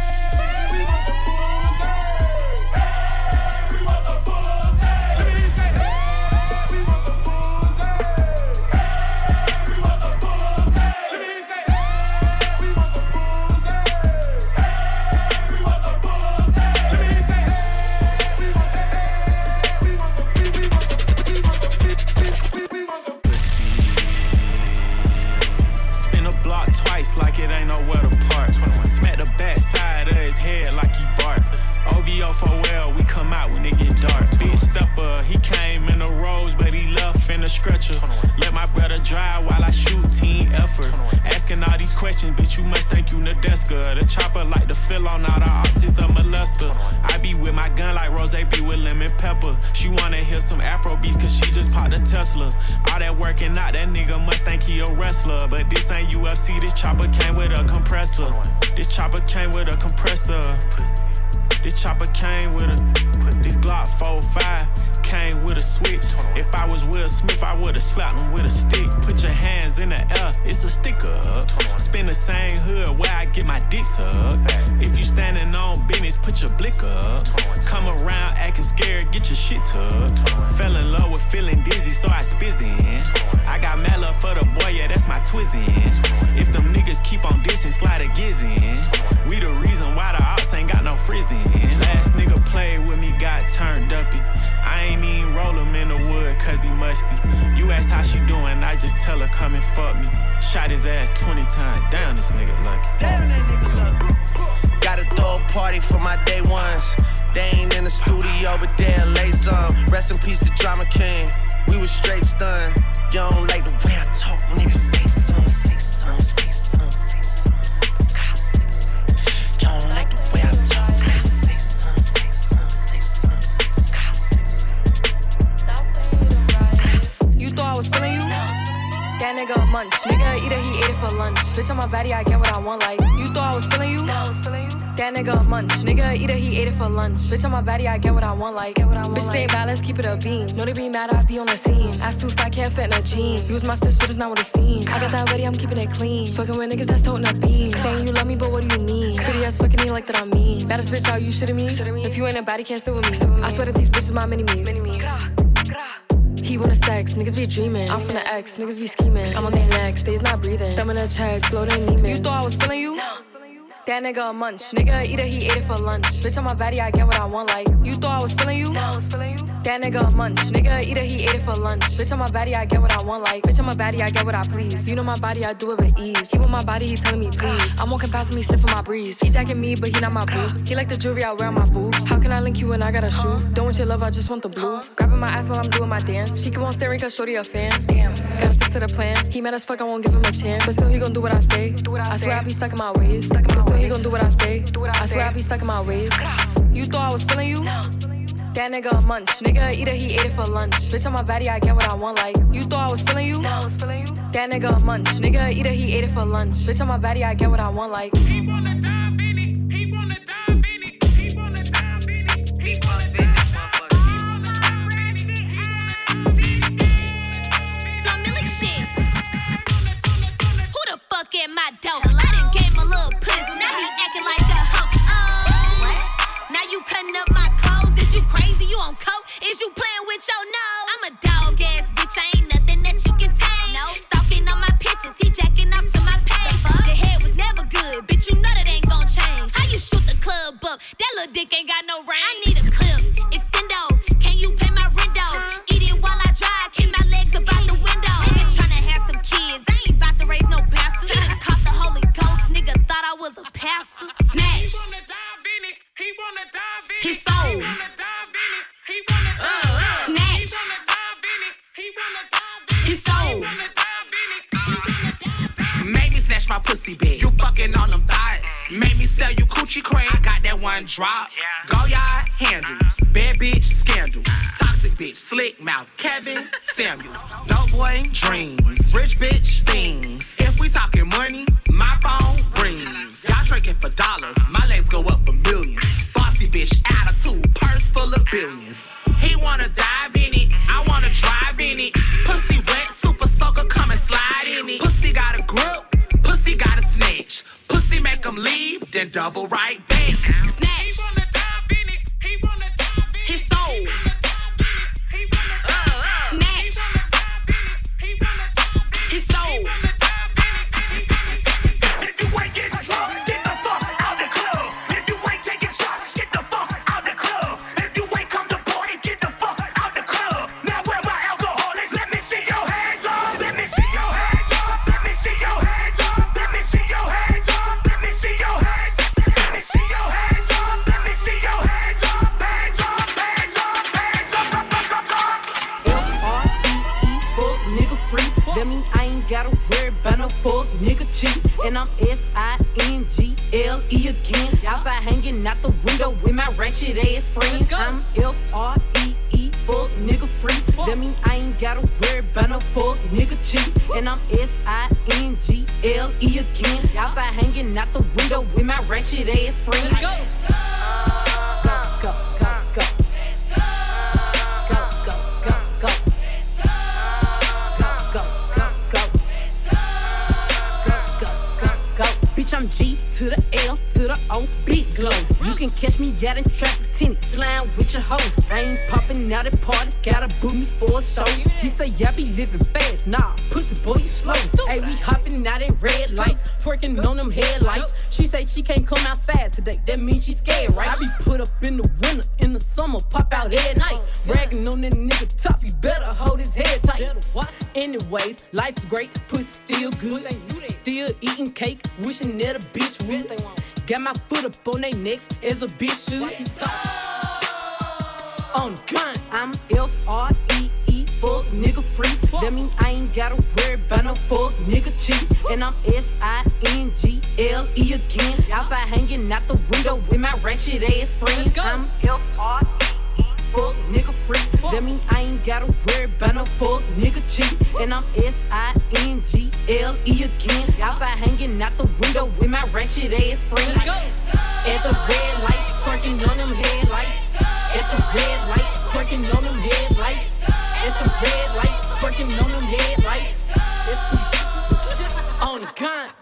Like it ain't nowhere to park. Smack the back side of his head like he bark. O V O for well, we come out when it get dark. Big stepper, he came in the rose, but he left in the stretcher. Let my brother drive while I shoot, team effort. Asking all these questions, bitch, you must think you Nadeska. The chopper like to fill on all the optics of molester. I be with my gun like Rose be with lemon pepper. She wanna hear some Afro beats cause she just popped a Tesla. All that working out, that nigga must think he a wrestler. But this ain't U F C, this chopper came with a compressor. This chopper came with a compressor. This chopper came with a, this Glock four five came with a switch. If I was Will Smith, I would've slapped him with a stick. Put your hands in the air, it's a sticker up. Spin the same hood where I get my dicks up. If you standing on business, put your blick up. Come come around acting scared, get your shit tucked. Fell in love with feeling dizzy, so I spizzin'. I got mad love for the boy, yeah, that's my twizzin'. If them niggas keep on dissing, slide a gizzin'. We the reason why the ops ain't got no frizzin'. Last nigga played with me, got turned uppy. I ain't even roll him in the wood, cause he musty. You ask how she doing, I just tell her come and fuck me. Shot his ass twenty times, damn this nigga lucky. Damn that nigga lucky. Gotta throw a party for my day ones. They ain't in the studio, but they'll lay some. Rest in peace to Drama King. We was straight stunned. You don't like the way I talk, nigga. Say something, say something, say something, say something, say something, say something. You don't like the way I talk, nigga. Say something, say something, say something, say something. You thought I was feeling you? That nigga a munch. Nigga eat it, he ate it for lunch. Bitch on my body, I get what I want. Like you thought I was feeling you? That nigga a munch. Nigga eat it, he ate it for lunch. Bitch on my body, I get what I want. Like bitch say mad, let's keep it a beam. Know they be mad, I be on the scene. Ass too fat, can't fit in a jean. Use my steps, but it's not what it seems. I got that ready, I'm keeping it clean. Fucking with niggas that's toting a beam. Saying you love me, but what do you mean? Pretty ass fucking me like that I'm mean. Baddest bitch, are you shitting me? If you ain't a baddie, can't sit with me. I swear that these bitches my mini-me's. He wanna sex, niggas be dreaming. I'm from the X, niggas be scheming. I'm on their necks, they's not breathing. Thumb in a check, blow their Neiman. You thought I was feeling you? No. That nigga a munch. Nigga eat it, he ate it for lunch. Bitch on my body, I get what I want. Like you thought I was feeling you? No, I was feeling you. That nigga a munch. Nigga eat it, he ate it for lunch. Bitch on my body, I get what I want. Like bitch on my body, I get what I please. You know my body, I do it with ease. He with my body, he telling me please. I'm walking past him, he sniffing my breeze. He jacking me, but he not my boo. He like the jewelry I wear on my boobs. How can I link you when I got a shoe? Don't want your love, I just want the blue. Grabbing my ass while I'm doing my dance. She keep on staring cause shorty a fan. Damn, gotta stick to the plan. He mad as fuck, I won't give him a chance. But still he gon' do what I say. Do what I, I swear I be stuck in my ways. But still he gon' do what I say. Do what I, I swear I be stuck in my ways. You thought I was feeling you? No. That nigga a munch. Nigga eat it, he ate it for lunch. Bitch on my body, I get what I want. Like you thought I was feeling you? No, I was feeling you. That nigga a munch. Nigga eat it, he ate it for lunch. Bitch on my body, I get what I want. Like he wanna dive in it. He wanna dive in it. He wanna dive in it. He wanna dive in it. Fuck at my door. I done gave him a little pussy. Now he acting like a hoe. Oh, what? Now you cutting up my clothes. Is you crazy? You on coke? Is you playing with your nose? I'm a dog ass bitch. I ain't nothing that you can tame. No. Stalking on my pictures. He jacking up to my page. The, the head was never good. Bitch, you know that ain't gon' change. How you shoot the club up? That little dick ain't got no range. I need a clip. Extendo. Can you pay my rent though? Eat it while I drive. Keep my legs up out the window. Nigga tryna have some kids. I ain't about to raise no bastard. He done caught the Holy Ghost. Nigga thought I was a pastor. Smash. He wanna dive in it. He wanna dive in it. He sold. He wanna dive in it. He wanna dive in it. Snatch. He wanna dive in it. He wanna dive in it. He sold. He wanna dive in it. He wanna dive in it. Made me snatch my pussy big. You fucking on them thighs. Made me sell you coochie cream. I got that one drop. Go yard handles. Bad bitch scandals. Toxic bitch, slick mouth. Kevin Samuel. Dope boy dreams. Rich bitch things. If we talking money, my phone rings. Y'all tricking for dollars. My legs go up for millions. Bossy bitch attitude. Purse full of billions. He wanna dive in it. I wanna drive in it. Pussy wet, super soaker, come and slide in it. Pussy got a grip. Pussy got a snatch. Pussy make him leave, then double right back. Snatch. He wanna dive in it. He wanna dive in it. His soul. Snatch. His soul. If you ain't getting drunk, get the fuck out the club. If you ain't taking shots, get the fuck out the club. If you ain't come to party, get the fuck out the club. Now where my alcoholics? Let me see your hands up. Let me see your hands up. Let me see your hands up. Let me see your hands up. Let me see your hands. Let me see your hands up. Let me see your hands up. Hands up. Hands up. Hands up. Hands up. F R E E, fuck nigga free. That mean I ain't gotta worry about no fuck nigga cheat. And I'm S I N G L E again. Outside hanging out the window with my ratchet ass friends. I'm F R E E, fuck nigga free. That mean I ain't gotta worry about no fuck nigga cheat. And I'm S I N G L E again. Outside hanging out the window with my ratchet ass friends. Go, go, go, go, go. Bitch, I'm G to the L to to the old beat glow. You can catch me out in traffic, tinted, slime with your hoes. I ain't popping out at parties, gotta book me for a show. He say, yeah, be living fast, nah, pussy boy, you slow. Hey, we hopping out at red lights, twerking on them headlights. She say she can't come outside today, that means she scared, right? I be put up in the winter, in the summer, pop out every night. Bragging on that nigga top, you better hold his head tight. Anyways, life's great, pussy still good. Still eating cake, wishing that a bitch would. Got my foot up on they necks as a bitch should. On gun, I'm F R E E, fuck nigga free. That mean I ain't gotta worry about no fuck nigga cheat. And I'm S I N G L E again. Outside hanging out the window with my ratchet ass friends. I'm F R E E, fuck nigga free. That mean I ain't gotta worry about no fuck nigga cheat. And I'm S I N G L E again. Outside hanging out the window with my ratchet ass friends. At the red light, twerking on them headlights. At the red light, twerking on them headlights. At the red light, twerking on them headlights. On the gun.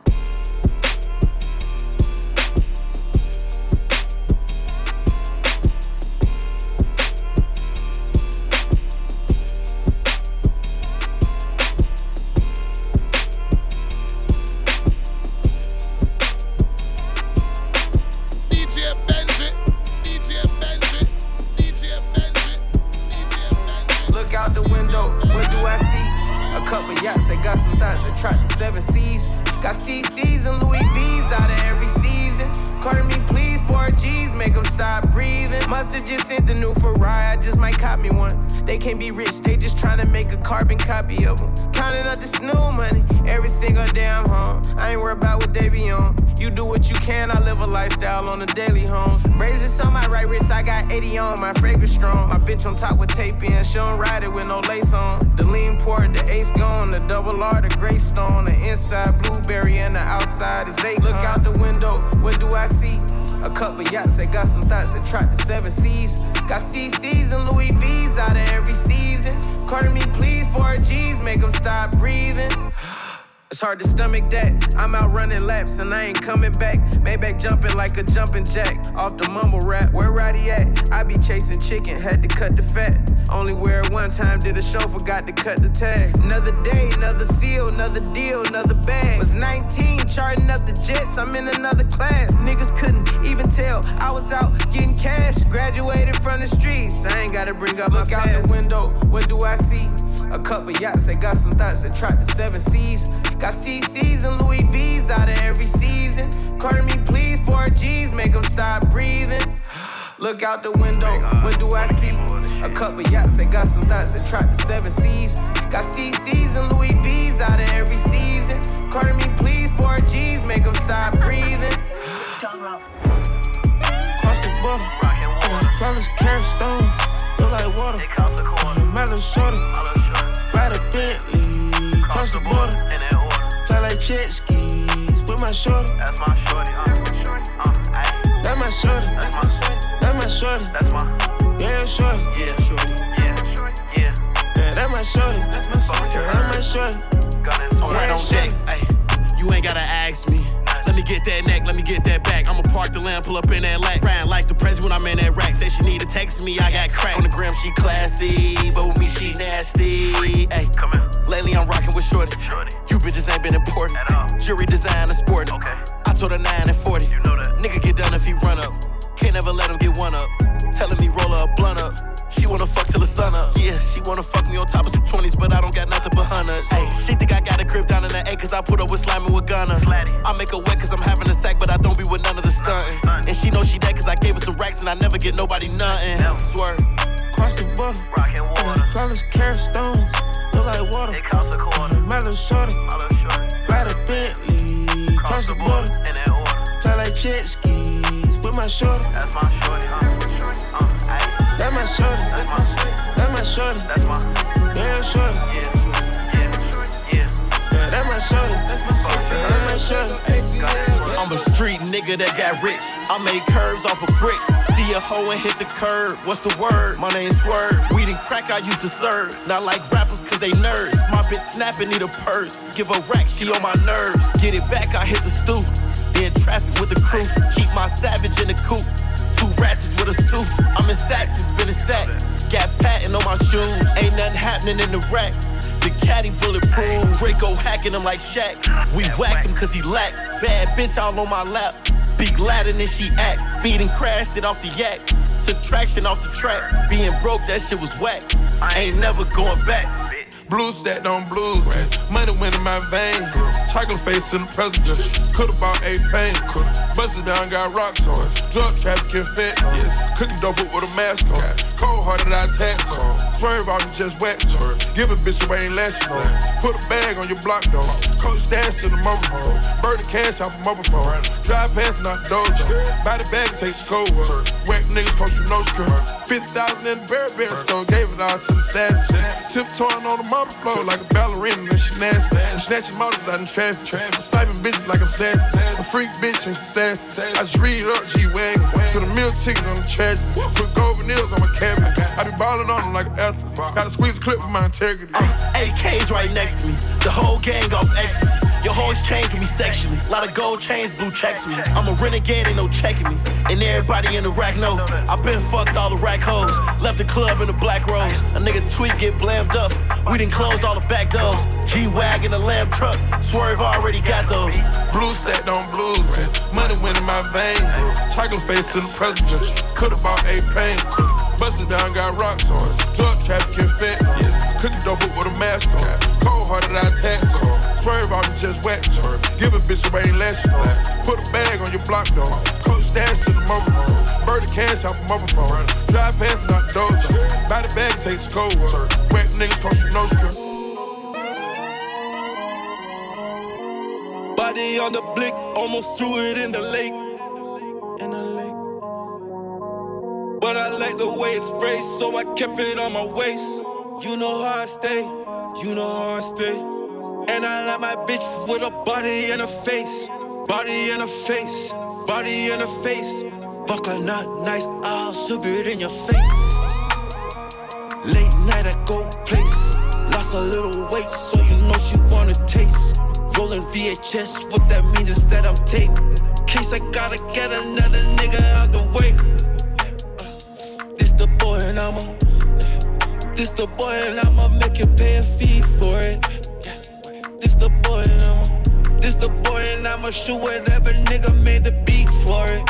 Out the window, what do I see? A couple yachts, I got some thoughts that track the seven seas. Got C Cs and Louis V's out of every season. Carter me please, four G's, make them stop breathing. Must've just sent the new Ferrari, I just might cop me one. They can't be rich, they just tryna make a carbon copy of them. Counting up the snoo money, every single day I'm home. I ain't worried about what they be on. You do what you can, I live a lifestyle on the daily homes. Braces on my right wrist, I got eighty on, my fragrance strong. My bitch on top with tape in, she don't ride it with no lace on. The lean port, the ace gone, the double R, the gray stone. The inside blueberry and the outside is eight. Look out the window, what do I see? A couple yachts that got some thoughts that track the seven seas. Got C Cs and Louis V's out of every season. Carter me please, four G's, make them stop breathing. It's hard to stomach that. I'm out running laps and I ain't coming back. Maybach jumping like a jumping jack. Off the mumble rap, where Roddy at? I be chasing chicken, had to cut the fat. Only wear it one time, did a show, forgot to cut the tag. Another day, another seal, another deal, another bag. Was nineteen, charting up the jets, I'm in another class. Niggas couldn't even tell I was out getting cash. Graduated from the streets, I ain't gotta bring up Look my out past. The window, what do I see? A couple yachts that got some thoughts that track the seven seas. Got C Cs and Louis V's out of every season. Carter me please, four G's, make them stop breathing. Look out the window, what do I see? A couple yachts that got some thoughts that track the seven seas. Got C Cs and Louis V's out of every season. Carter me please, four G's, make them stop breathing. Cross the border, I got flawless carrot stones, look like water. My little shorty, ride a Bentley, cross the border. Fly like jet skis with my shorty. That's my shorty, uh, shorty, uh, That's my shorty, that's my shorty. That's my shorty, that's my, yeah, shorty. Yeah, shorty, yeah, shorty, yeah. Yeah, that's my shorty, that's my shorty. Yeah, that's my shorty. I'm right on deck, ayy, you ain't gotta ask me. Let me get that neck, let me get that back. I'ma park the lamb, pull up in that lack. Crying like the president when I'm in that rack. Say she need to text me, I got crack. On the gram, she classy, but with me, she nasty. Ay, come here. Lately, I'm rocking with shorty. shorty. You bitches ain't been important. At all. Jury design a sport. Okay. I told her nine and forty. You know that. Nigga get done if he run up. Can't never let him get one up. Telling me roll her a blunt up. She wanna fuck till the sun up. Yeah, she wanna fuck me on top of some twenties, but I don't got nothing but hundreds. Hey, she think I got a crib down in the A, cause I put up with slamming with Gunna. I make her wet cause I'm having a sack, but I don't be with none of the stunting. And she know she dead cause I gave her some racks and I never get nobody nothing. Swear. Cross the border, I got flawless carrot stones, look like water. It costs a quarter. My little shorty, ride a Bentley, cross the border. Fly like jet skis with my shorty. That's my shorty, huh? Uh, That's my shorty, that's my shorty, that's my shorty, that's my, yeah, shorty, yeah, yeah, yeah, yeah, that's my shorty, that's my shorty, that's my shorty. I'm a street nigga that got rich. I made curves off a brick. See a hoe and hit the curb. What's the word? My name's Swerve. Weed and crack I used to serve. Not like rappers cause they nerds. My bitch snapping need a purse. Give a rack, she on my nerves. Get it back, I hit the stoop. Then traffic with the crew. Keep my savage in the coop. Two ratchets with us too. I'm in sacks, it's been a sack. Got patent on my shoes. Ain't nothing happening in the rack. The caddy bulletproof. Draco hacking him like Shaq. We whacked him cause he lacked. Bad bitch all on my lap. Speak Latin and she act. Beat and crashed it off the yak. Took traction off the track. Being broke, that shit was whack. Ain't never going back. Blues stacked on blues. Money went in my veins. Chocolate face in the president. Could've bought eight pain. Busted down, got rocks on us. Drug trafficking fit. Cooking dope with a mask on. Cold hearted, I tax on. Swerve out and just wet. Give a bitch away ain't last on. Put a bag on your block though. Coach stash to the mobile phone. Burn the cash off a mobile phone. Drive past and out the dojo. Buy the bag and take the cold word. Whack niggas cost you no skirt. fifty thousand in the Burberry store. Gave it all to the savage. Tiptoeing on the motor flow like a ballerina and she nasty. I'm snatching motors out in traffic. I'm sniping bitches like I'm sassy. A freak bitch and sassy. I just read up G-Wagon. Put a meal ticket on the trash. Put gold veneers on my cabinet. I be balling on them like an athlete. Gotta squeeze a clip for my integrity. A K's right next to me. The whole gang off ecstasy. Your hoes change with me sexually. Lot of gold chains, blue checks with me. I'm a renegade, ain't no checking me. And everybody in the rack know I been fucked all the rack hoes. Left the club in the black rose. A nigga tweet get blammed up. We done closed all the back doors. G-Wagon, a lamb truck. Swerve already got those. Blues stacked on blues. Money went in my veins. Chocolate face in the president. Could've bought eight pain. Busted down, got rocks on us. Drug trafficking fit. Cooking dope with a mask on. Cold hearted, I tax on. Swerve out and just wet. Give a bitch away ain't last on. Put a bag on your block though. Coach stash to the mobile phone. Burn the cash off a mobile phone. Drive past and out the dojo. Buy the bag and take the cold word. Whack niggas cost you no skirt. Body on the blick, almost threw it in the lake. In the lake. But I like the way it sprays, so I kept it on my waist. You know how I stay, you know how I stay. And I like my bitch with a body and a face. Body and a face, body and a face. Fuck her not nice, I'll slip it in your face. Late night I go place. Lost a little weight, so you know she wanna taste. Rolling V H S, what that means is that I'm taped. Case I gotta get another nigga out the way. This the boy and I'ma This the boy and I'ma make you pay a fee for it. This the boy and I'ma This the boy and I'ma shoot whatever nigga made the beat for it.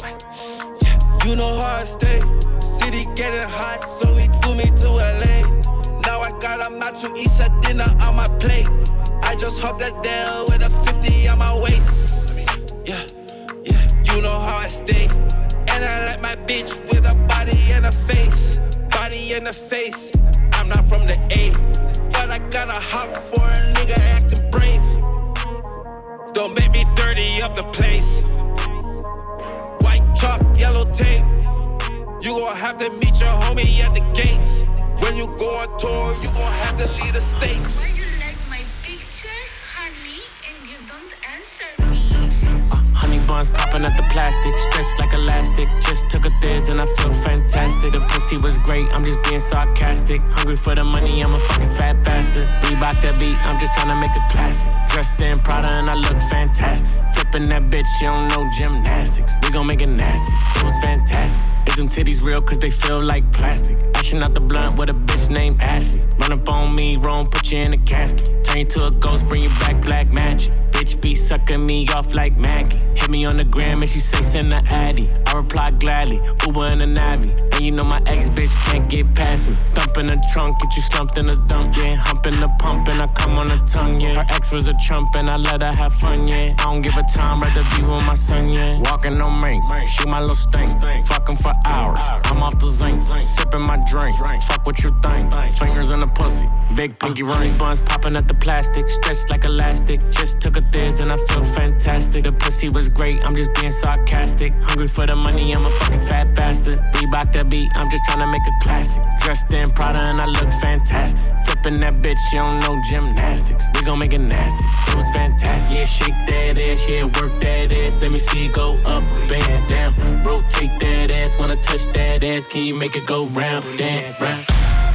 You know how I stay. City getting hot, so he flew me to L A. Now I got a macho east at dinner on my plate. I just hugged a Dell with a fifty on my waist. Yeah, yeah, you know how I stay. And I like my bitch with a body and a face. Body and a face. I'm not from the A, but I got a hawk for a nigga acting brave. Don't make me dirty up the place. White chalk, yellow tape. You gon' have to meet your homie at the gates. When you go on tour, you gon' have to leave the state. Why you like my picture, honey, and you don't answer me? Uh, honey buns popping at the plastic, stretched like elastic. Just took a thiz and I feel fantastic. The pussy was great, I'm just being sarcastic. Hungry for the money, I'm a fucking fat bastard. Reebok that beat, I'm just trying to make a classic. Dressed in Prada and I look fantastic. Flipping that bitch, you don't know gymnastics. We gon' make it nasty, it was fantastic. Is them titties real cause they feel like plastic? Ashing out the blunt with a bitch named Ashley. Run up on me, wrong, put you in a casket. Turn you to a ghost, bring you back black magic. Bitch be sucking me off like Maggie. Hit me on the gram and she say send the Addy. I reply gladly, Uber in a Navi. And you know my ex bitch can't get past me. Thump in the trunk, get you slumped in the dump, yeah. Hump in the pump and I come on the tongue, yeah. Her ex was a trump and I let her have fun, yeah. I don't give a time, rather be with my son, yeah. Walking on mink, shoot my little stink. Fuck him for hours, I'm off the zinc. Sipping my drink, fuck what you think. Fingers in the pussy, big pinky ring. Buns popping at the plastic, stretched like elastic. Just took a thiz and I feel fantastic. The pussy was great, I'm just being sarcastic. Hungry for the money, I'm a fucking fat bastard. Reebok that beat, I'm just trying to make a classic. Dressed in Prada and I look fantastic. Flipping that bitch, you don't know gymnastics. We gon' make it nasty, it was fantastic. Yeah, shake that ass, yeah, work that ass. Let me see it go up, band down. Rotate that ass, wanna touch that ass. Can you make it go round, dance, round?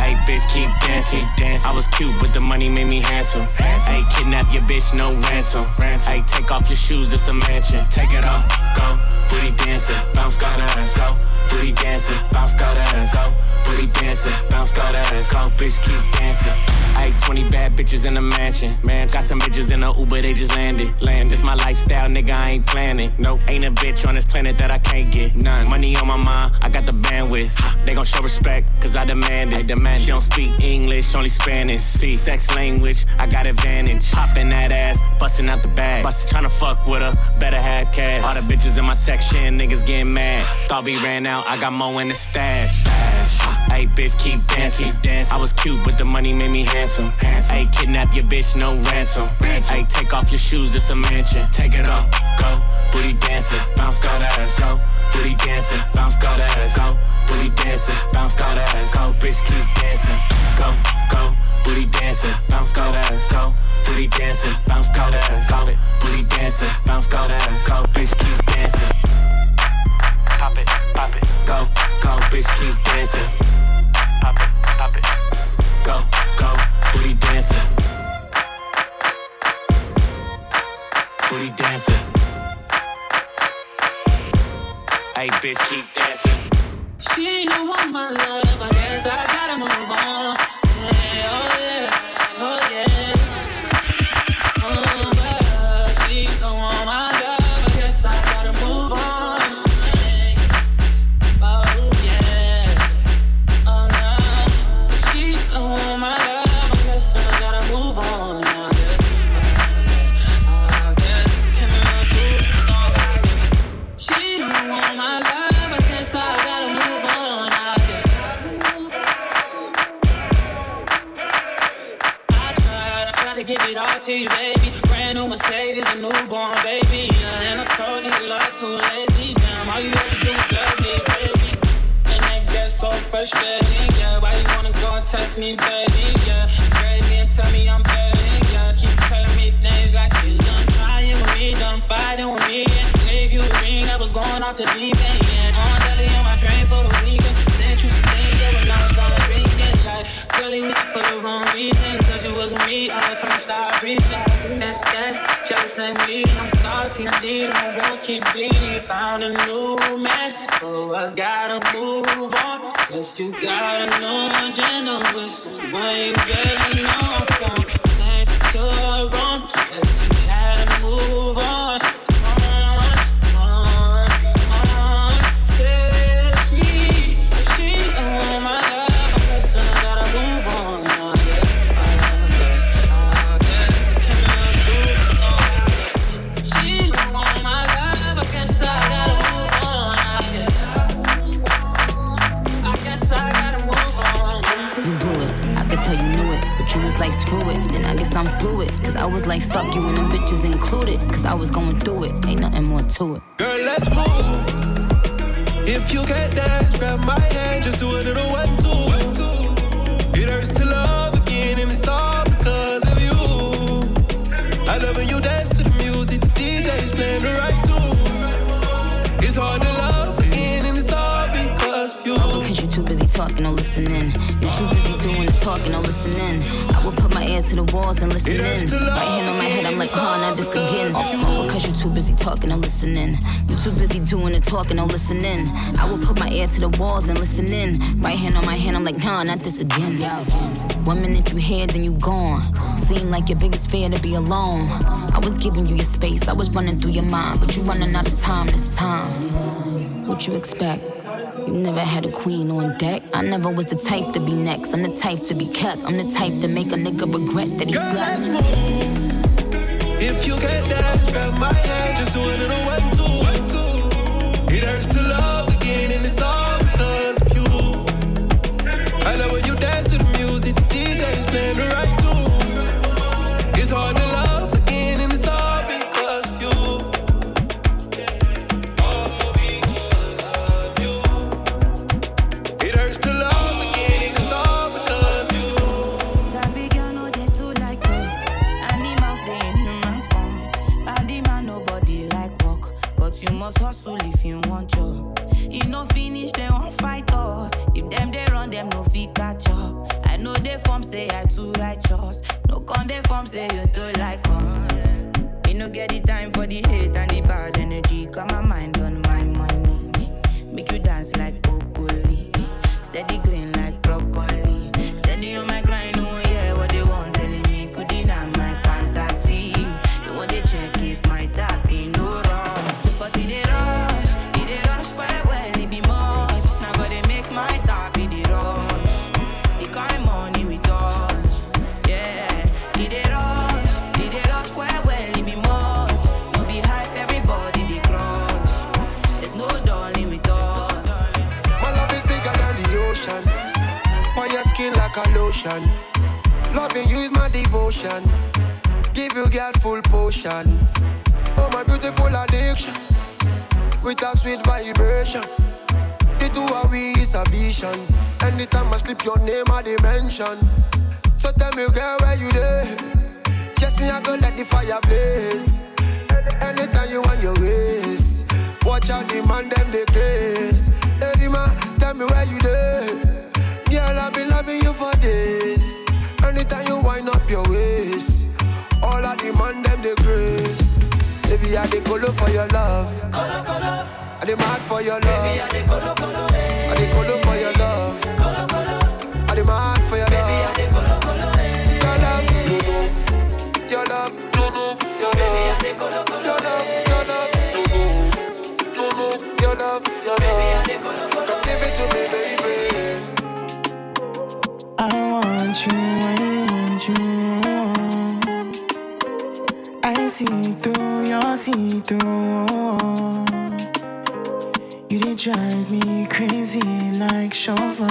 Hey, bitch, keep dancing. I was cute, but the money made me handsome. Hey, kidnap your bitch, no ransom. Hey, take off your shoes, it's a mansion. Take it off, go, booty dancing, bounce that ass, go. Booty dancing, bounce that ass, go. Booty dancing, bounce that ass, go. Bitch, keep dancing. Ayy, twenty bad bitches in a mansion. Man, got some bitches in a Uber, they just landed. Land, this my lifestyle, nigga, I ain't planning. Nope, ain't a bitch on this planet that I can't get. None. Money on my mind, I got the bandwidth. They gon' show respect, cause I demand it. I demand it. She don't speak English, only Spanish. See, sex language, I got advantage. Popping that ass, busting out the bag. Bust, tryna fuck with her, better have cash. All the bitches in my section, niggas getting mad. Thought we ran out, I got more in the stash. Hey, bitch, keep dancing. I was cute, but the money made me handsome. Hey, kidnap your bitch, no ransom. Hey, take off your shoes, it's a mansion. Take it off, go, booty dancing, bounce that ass, go. Booty dancing, bounce that ass, go. Booty dancing, bounce that ass, go. Bitch, keep dancing, go, go. Booty dancing, bounce that ass, go. Booty dancing, bounce that ass, go. Booty dancing, bounce that ass, go. Bitch, keep dancing. Pop it, pop it, go, go. Bitch, keep dancing. Pop it, pop it, go, go. Booty dancing. Booty dancing. Hey, bitch, keep dancing. She don't want my love, I guess I gotta move on. Yeah, oh yeah, oh yeah. Oh, but she don't want my love, I guess I gotta move on. Oh yeah, oh no. She don't want my love, I guess I gotta move on. I guess I cannot move on. She don't want my love, I guess I gotta move on. I guess I tried, I tried to give it all to you, baby. Brand new Mercedes, a newborn baby. Yeah, and I told you you like too lazy. Damn, all you had to do was love me, baby. And that gets so frustrating, yeah. Why you wanna go and test me, baby? Yeah, grade me and tell me I'm failing, yeah. Keep telling me things like you done trying with me, done fighting with me. Gave you a ring that was going off the deep end. Yeah, on daily on my train for the weekend. Sent you some things, yeah, when I was gonna drink it. Like, really me for the wrong reason. Cause you was with me, all the time start reaching. That's, that's, jealous and me. I'm salty, I need my wounds keep bleeding. Found a new man, so I gotta move on. Guess you got a new agenda with someone, girl, you know I'm gonna say you're wrong. Guess you had to move on. Like screw it, and I guess I'm fluid. Cause I was like fuck you and them bitches included. Cause I was going through it, ain't nothing more to it. Girl, let's move. If you can't dance, grab my hand, just do a little one, two. It hurts to love again, and it's all because of you. I love when you dance to the music, the D J's playing the right tune. It's hard to love again, and it's all because of you. Cause you too busy talking or listening. You too busy doing the talking or listening. I would put my ear to the walls and listen in. Right hand on my head, I'm like, huh, not this again. Because you too busy talking or listening. You too busy doing the talking or listening. I would put my ear to the walls and listen in. Right hand on my head, I'm like, nah, not this again. One minute you here, then you gone. Seem like your biggest fear to be alone. I was giving you your space, I was running through your mind. But you running out of time this time. What you expect? You never had a queen on deck. I never was the type to be next. I'm the type to be kept. I'm the type to make a nigga regret that he Girl, slept. let's move. If you can't dance, grab my hand, just do a little one, two, one, two. It hurts to love again, and it's all because of you. I love when you dance to the music, the D J's playing the right tune. It's hard to love again, and it's all because of you. You must hustle if you want job. If no finish, they won't fight us. If them they run, them no fit catch up. know they form say I too righteous. No con they form say you too like us. Me no get the time for the hate and the bad energy. Got my mind on my money. Make you dance like broccoli. Steady green like broccoli. Steady on my grind, oh yeah, what they want telling me could deny my fantasy. They want to check if my tap ain't no wrong. But it dey rush, it dey rush well well, it be much. Now gotta make my tap it dey rush. The kind money we touch, yeah. It dey rush, it dey rush well well, it be much. No be hype, everybody dey crush. There's no darling with us. My love is bigger than the ocean. On your skin like a lotion. Loving you is my devotion. Give you girl full potion. Oh my beautiful addiction. With a sweet vibration. The two of we is a vision. Anytime I slip your name I dimension. So tell me girl where you there. Just me I go let the fire blaze. Anytime you want your ways. Watch out the man them they craze. Hey man, tell me where you there. Girl I've been loving you for days. Anytime you wind up your waist. All of the man them they grace. Baby I dey colo for your love. Colo colo. I dey mad for your love. Baby I dey colo colo. I dey colo for your love. Colo colo. I dey mad for your love. Baby I dey colo colo. Your love, you know. Your love, you know. Your love, baby I dey colo colo. Your love, your love, you know. You know. Your love, your love. Baby I dey colo colo. Come give it to me, baby. I want you, I want you. I see through your see-through. You did drive me crazy like chauffeur.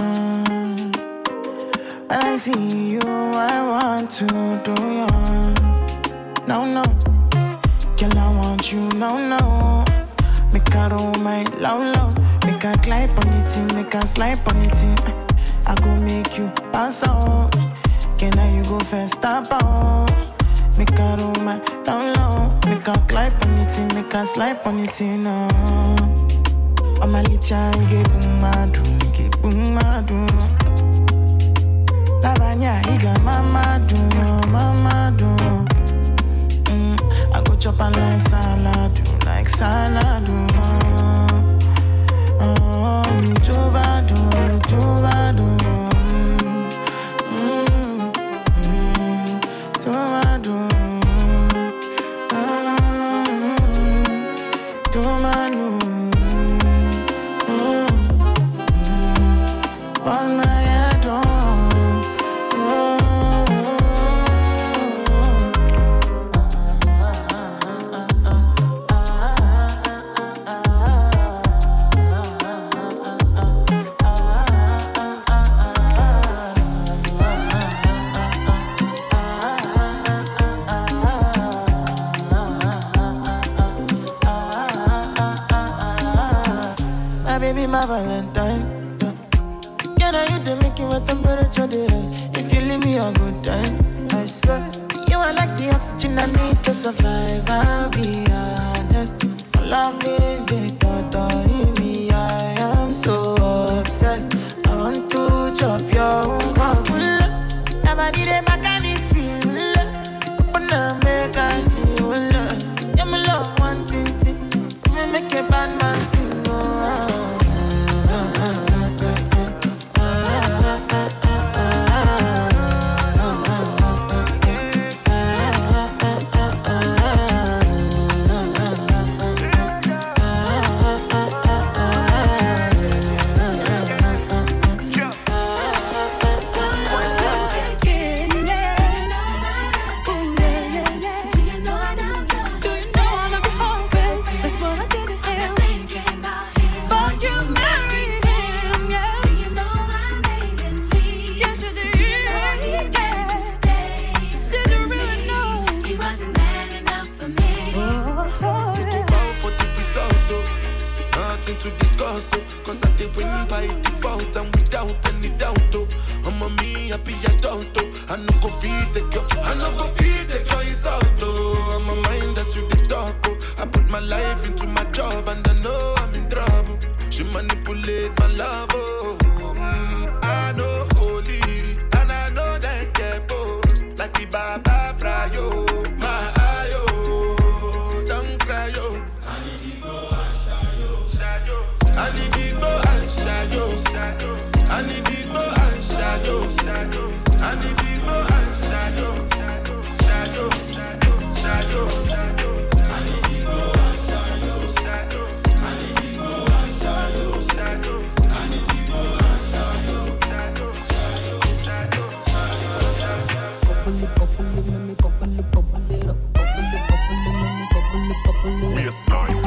When I see you, I want to do you. No, no, girl, I want you, no, no. Make a roll my low, low. Make a climb on it, make a slide on it. I go make you pass out. Can I you go first, stop out? Make a roll my down low. Make a climb on it, make a slide on it, no. I'm a little child, get boom, I do, get boom, I do. La bagna, he got mama do, mama do. Mm, I go chop and like salad, do like salad, do. Oh, me too bad, do, me too bad, do. My Valentine, yeah, now you do make you a temperature rise. If you leave me a good time, I swear you are like the oxygen I need to survive. I'll be honest, loving the thought of me. I am so obsessed. I want to chop your own cock. Never did it back at this feel. Open up, make us feel. Yeah, my love, one thing, me make a bad man sing. Oh. To discuss, oh, cause I did win by default and without any doubt. Oh, I'm a me happy adult. Oh, I no go feed the girl, I no go feed the girl is out. Oh, I'm a mind that's with the talk. Oh, I put my life into my job and I know I'm in trouble. She manipulate my love. Oh, mm, I know holy and I bubble it, bubble it up, bubble it, bubble it, let me bubble it, bubble it. Waistline.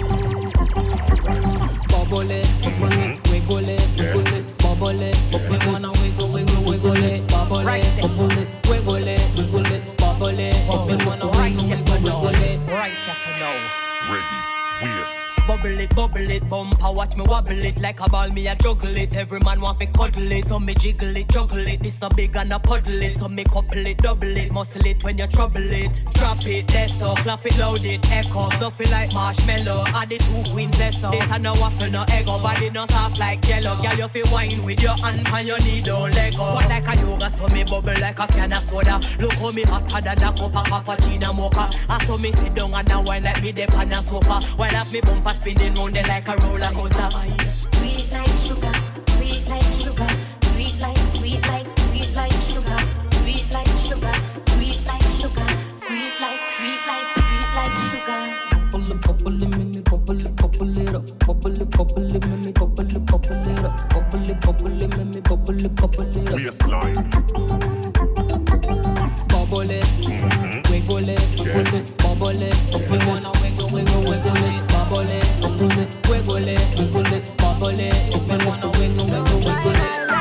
Bubble it, bubble it, wiggle it, wiggle it, bubble it. We wanna wiggle, wiggle, wiggle it, bubble it, bubble it, wiggle it, wiggle it, bubble it. We wanna wiggle, wiggle, wiggle it. Right, yes or no? Ready. Waist. Bubble it, bubble it, bumper, watch me wobble it. Like a ball, me a juggle it. Every man want fi cuddle it. So me jiggle it, juggle it. This not big and a puddle it. So me couple it, double it. Muscle it when you trouble it. Drop it, let's so clap it, load it. Echo, stuffy like marshmallow. Add the two queens, let's so. This a no waffle, no egg. Body no soft like jello. Girl, you fi wine with your hand and your knee don't let go. But like a yoga, so me bubble like a can of soda. Look how me hotter than a cup of cappuccino mocha. And so me sit down and a wine like me dip on a sofa. While up me bumper spinning round there like a roller coaster. Sweet like sugar, sweet like sugar, sweet like, sweet like, sweet like sugar, sweet like sugar, sweet like sugar, sweet like, sweet like, sweet like sugar. Bubble it, bubble it, make me bubble it, bubble it up. Bubble it, bubble it, make me bubble it, bubble it up. Bubble it, bubble it, make me bubble it, bubble it up. Waistline. Bubble it, wiggle it, wiggle it, bubble it. We wanna wiggle, wiggle, wiggle it, bubble it, bubble it, wiggle it, wiggle it, bubble it. We wanna wiggle, wiggle, wiggle it.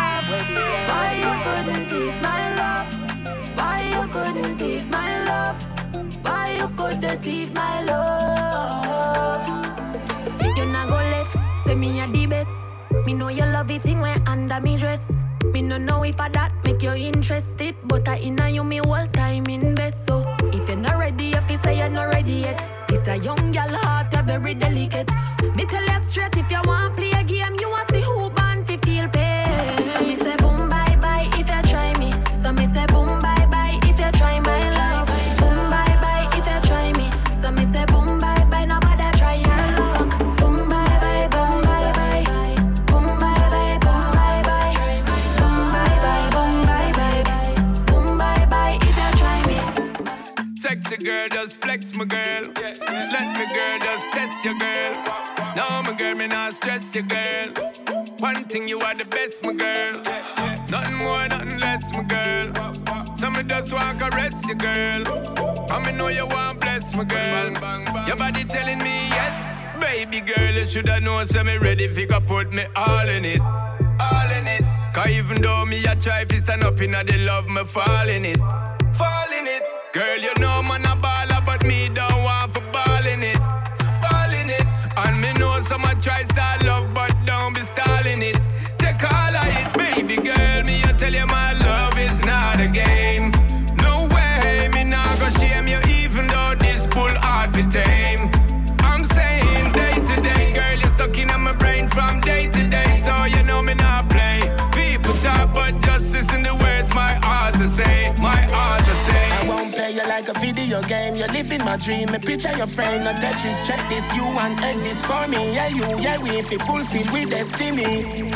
Why you couldn't give my love? Why you couldn't give my love? Why you couldn't give my love? You not go left, say me a the best. Me know you love it thing when under me dress. Me no know if I that make you interested, but I inna you me whole time invest. So if you're not ready, if you say you're not ready yet, it's a young girl heart, you're very delicate. Me tell you straight, if you want play a game, you want see who born fi feel pain. So me say boom bye bye if you try me. So me say boom bye bye if you try my love. Boom bye bye if you try me. So me say boom bye bye, nobody try your luck. Boom bye bye, boom bye bye, boom bye bye, boom bye bye, boom bye bye, boom bye bye, boom bye bye if you try me. Sexy girl, just flex my girl. Let me girl, just test your girl. No, my girl, me not stress your girl. One thing, you are the best, my girl. Nothing more, nothing less, my girl. So me just want to caress your girl. And me know you want bless my girl. Your body telling me yes. Baby girl, you shoulda known, so me ready if you go put me all in it. All in it. Cause even though me a try fi stand up inna the love, me fall in it. Fall in it. Girl, you know man a baller, but me don't want for ball in it. Ball in it. And me know some a try start love, but don't be stalling it. Take all of it, baby girl. Me I tell you my love is not a game. No way, me not go shame you, even though this bull hard to tame. I'm saying day to day, girl, you're stuck in my brain from day to day, so you know me not play. People talk, but just listen the words my heart to say, my heart to say. I won't play you like a video game. You're living my dream. Me picture your friend, no Tetris. Check this, you want exist for me. Yeah, you, yeah, we if you fulfill with destiny.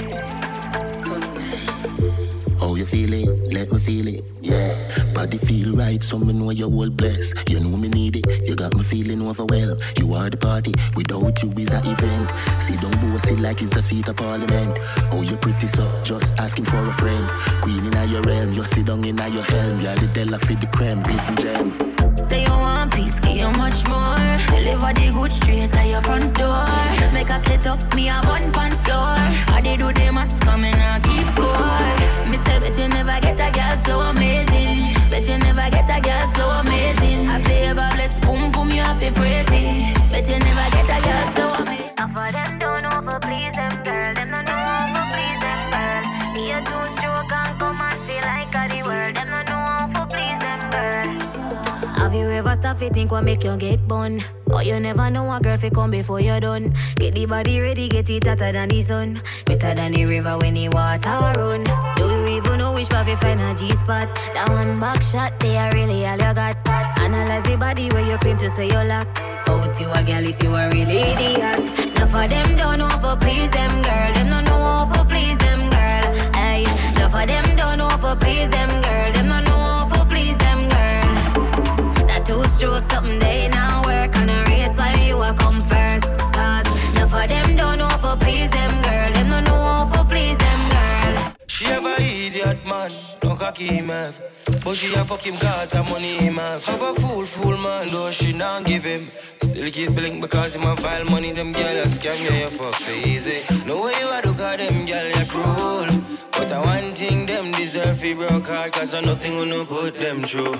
How you feeling? Let me feel it, yeah. Body feel right, so me know you're all blessed. You know me need it, you got me feeling overwhelmed. You are the party, without you is an event. Sit down bossy like it's the seat of parliament. Oh, you pretty so, just asking for a friend. Queen in your realm, you sit down in your helm. You're the Della for the creme, beef and jam. Say you want peace, give you much more. Deliver the good straight at your front door. Make a get up, me a one pan floor. How they do the maths coming and keep score. Me say that you never get a girl so amazing. Bet you never get a girl so amazing. I play a bless, boom boom, you have to praise it. Bet you never get a girl so amazing. Enough of them don't over please them girl. Them don't know over please them girl. Me a two stroke and come and feel like a the world. Them don't know over please them girl. Have you ever stopped to think what make you get bun? Or you never know a girl fi come before you're done. Get the body ready, get it hotter than the sun. Better than the river when the water run. Do you even know which part fi find a G-spot? That one back shot, they are really all you got. Analyze the body where you claim to say you lack. Out you a girl is you a real idiot. Now for them don't know for please them girl. Them don't know for please them girl. Hey, now for them don't know for please them girl. Them don't know for please them girl. Two strokes, something they now work on a race while you a come first. Cause none for them don't know for please them girl. Them don't know for please them girl. She have have a idiot man, no cocky him have. But she a fuck him cause her money him have. Have a fool, fool man, though she not give him. Still keep blink because him a file money, them gyal a scam, yeah, you fuck so easy. No way you a do cause them gyal you cruel. But I one thing them deserve fi broke hard, cause there's nothing gonna put them through.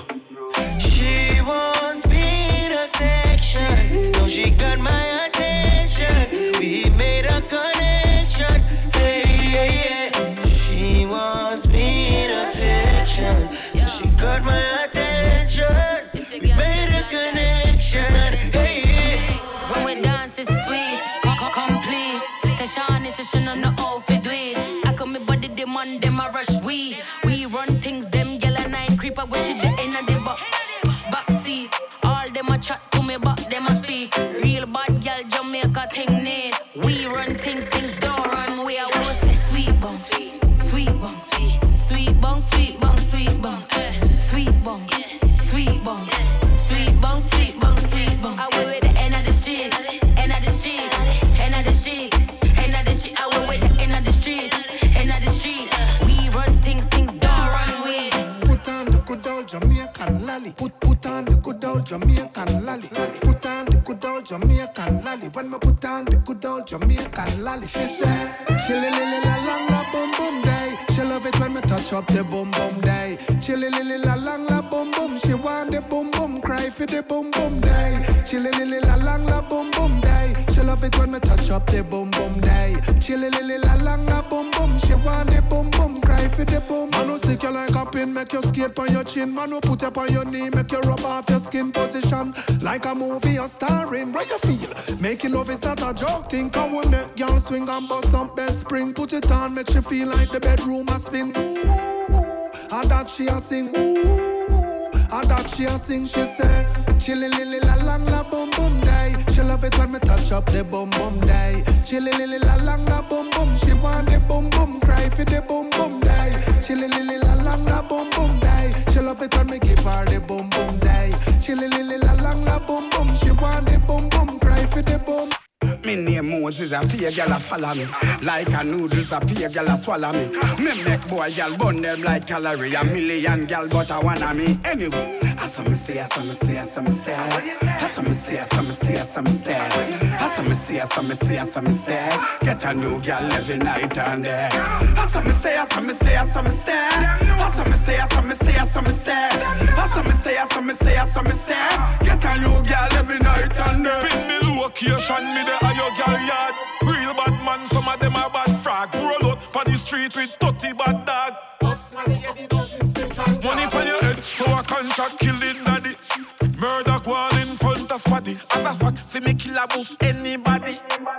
She wants me in a section, now she got my attention. We made a connection, hey, hey, hey. She wants me in a section, so she got my attention. We made a connection, hey, hey. When we dance it's sweet, complete. Tashan is a on the outfit do it. I come me body demand them a rush we. We run things them yell and nine creep. I wish it the end of the back backseat. All them a chat to me but them a speak. Real bad girl Jamaica thing need. We run things, things don't run. We are always say sweet bong, sweet, sweet bong, sweet, sweet bong, sweet bong, sweet bong, sweet bong, sweet bong, sweet bong, sweet bong, sweet bong. I went with the end of the street, end of the street, end of the street, end of the street. I went with the end of the street, end of the street. We run things, things don't run. We put on the good old Jamaican lolly. Put put on the good old Jamaican lolly. Put on the good old Jamaican lolly. When me put on the good old Jamaican lolly, she said, chilly lily la long la boom boom day. She love it when me touch up the boom boom day. Chilly lily la long la boom boom. She want the boom boom, cry for the boom boom day. Chilly lily la long la boom boom day. She love it when me touch up the boom boom day. Chilly lily la long la boom boom. She want the boom boom, cry for the boom. Man who stick you like a pin, make you skate on your chin. Man who put you on your knee, make you rub off your skin position. Like a movie you're starring, where you feel. Making love is not a joke thing. Come we make y'all swing and bust some bed spring. Put it on, make you feel like the bedroom a spin. Ooh, and that she a sing. Ooh, and that she a sing. She say, chilly lily la lang la boom boom day. She love it when me touch up the boom boom day. Chilly lily la lang la boom boom. She want the boom boom, cry for the boom boom day. Chilly lily la lang la boom boom day. She love it when me give her the boom boom day. Chilly lily la lang la boom boom. She want the boom boom, cry for the boom. Me name Moses, a pay girl a follow me. Like a noodles, a pay girl a swallow me. Me make boy girl burn them like calorie. A million girl but I wanna me. Anyway, I saw me stay, I saw me stay, I saw me stay. I saw me stay, I saw me stay, I saw me stay. I saw me stay, I saw me stay, I saw me stay. Get a new girl every night and day. I saw me stay, I saw me stay, I saw me stay. I saw me stay, I saw me stay, I saw me stay. I saw me stay, I saw me stay, I saw me stay. Get a new girl every night and day. Pin me location, me the your girl yard. Real bad man, some of them are bad frag. Roll out on the street with thirty bad dog. Money for your head, so a contract killing daddy. Murder wall in front of squaddy. As a fact, fi me kill a boost anybody.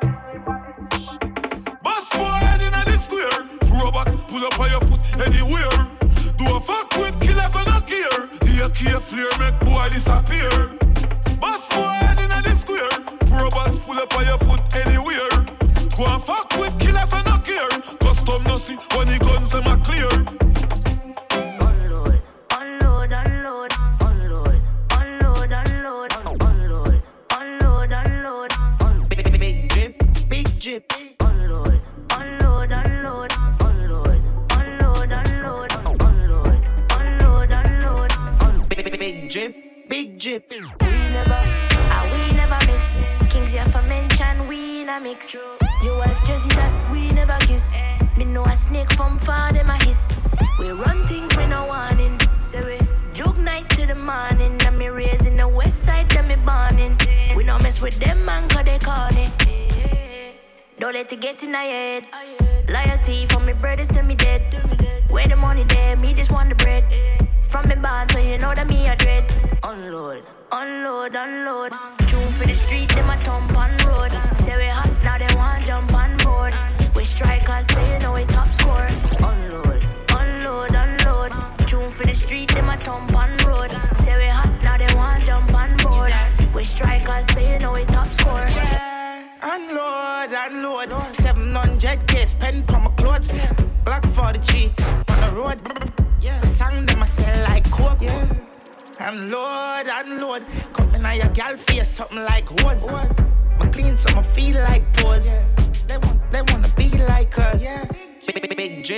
Boss boy head inna the square. Robots pull up on your foot anywhere. Do a fuck with killers and not care. The A K flare make boy disappear. Boss boy head inna the square. Robots pull up on your foot anywhere. Go and fuck with killers and not care. Custom no see when the guns them are clear. Unload, unload, unload, unload, unload, unload, unload, unload, unload, unload. Big, big drip, big drip. Unload, unload, unload, unload, unload, unload, unload, unload, unload, unload. Big, big drip, big drip. We never, ah, we never miss. Kings here for mention, we in a mix. Your wife just that we never kiss. Me know a snake from far, them a hiss. We run things we no warning. Say we joke night to the morning. And me raised in the west side, them me borning. We no mess with them man, cause they corny. Don't let it get in our head. Loyalty from me brothers till me dead. Where the money there, me just want the bread. From me band, so you know that me a dread. Unload, unload, unload. True for the street, them a thump on road. Say we hot, now they want jump on board. We strikers, say you know we top score. Unload, unload, unload. True for the street, them a thump on road. Say we hot, now they want jump on board. We strikers, say you know we top score. Unload, unload. seven hundred K spend for my clothes. Glock forty-three on the road. Sang them I sell like coke. Unload, unload. Come in on your gal face, something like hose. I clean so I feel like pose. They want, they wanna be like us. Big, big, big drip,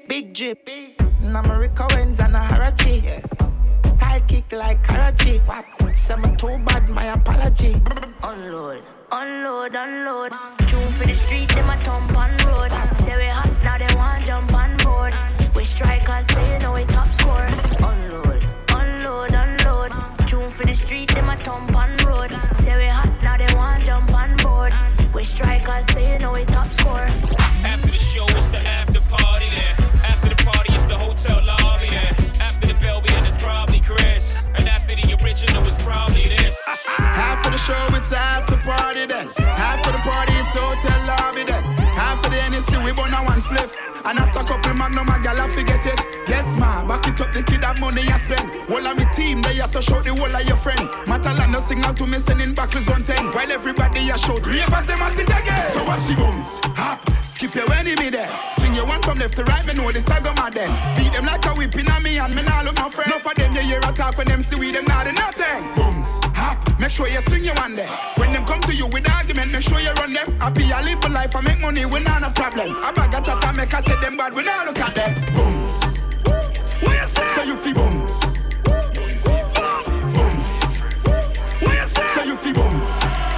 big drip. Namorika wins and a Harachi. Yeah. Style kick like Karachi. Some too bad, my apology. Unload, unload, unload. Tune for the street, them a thump on road. Say we hot, now they want jump on board. We strikers, say you know we top score. Unload, unload, unload. Tune for the street, them a thump on road. Say we hot, now they want jump on board. We strikers, say you know we top score. After the show, it's the after party there. After the party, it's the hotel lobby there. After the Belvedere, it's probably Chris. And after the original, it's probably this. After the show, it's after party then. After the party, it's hotel lobby then. After the N S C, we burn a one spliff. And after a couple magnum, a gal, I forget it. Yes, ma, back it up, the kid have money you spend. All of me team, they are so shout the whole of your friend. Matalan no signal to me sending back on ten. While everybody a shout, ravers them at it again. So watch the booms, hop, skip your enemy there. Swing your one from left to right, me know the saga mad then. Beat them like a whip in a me and me nah look no friend. Enough of them you hear a talk when them see we them not do nothing. Booms, hop, make sure you swing your one there. When them come to you with argument, make sure you run them. Happy I live for life, I make money, we not no problem. I bag a chat and make I say them bad, we not look at them. Booms, so you feel booms. Booms, so you feel booms.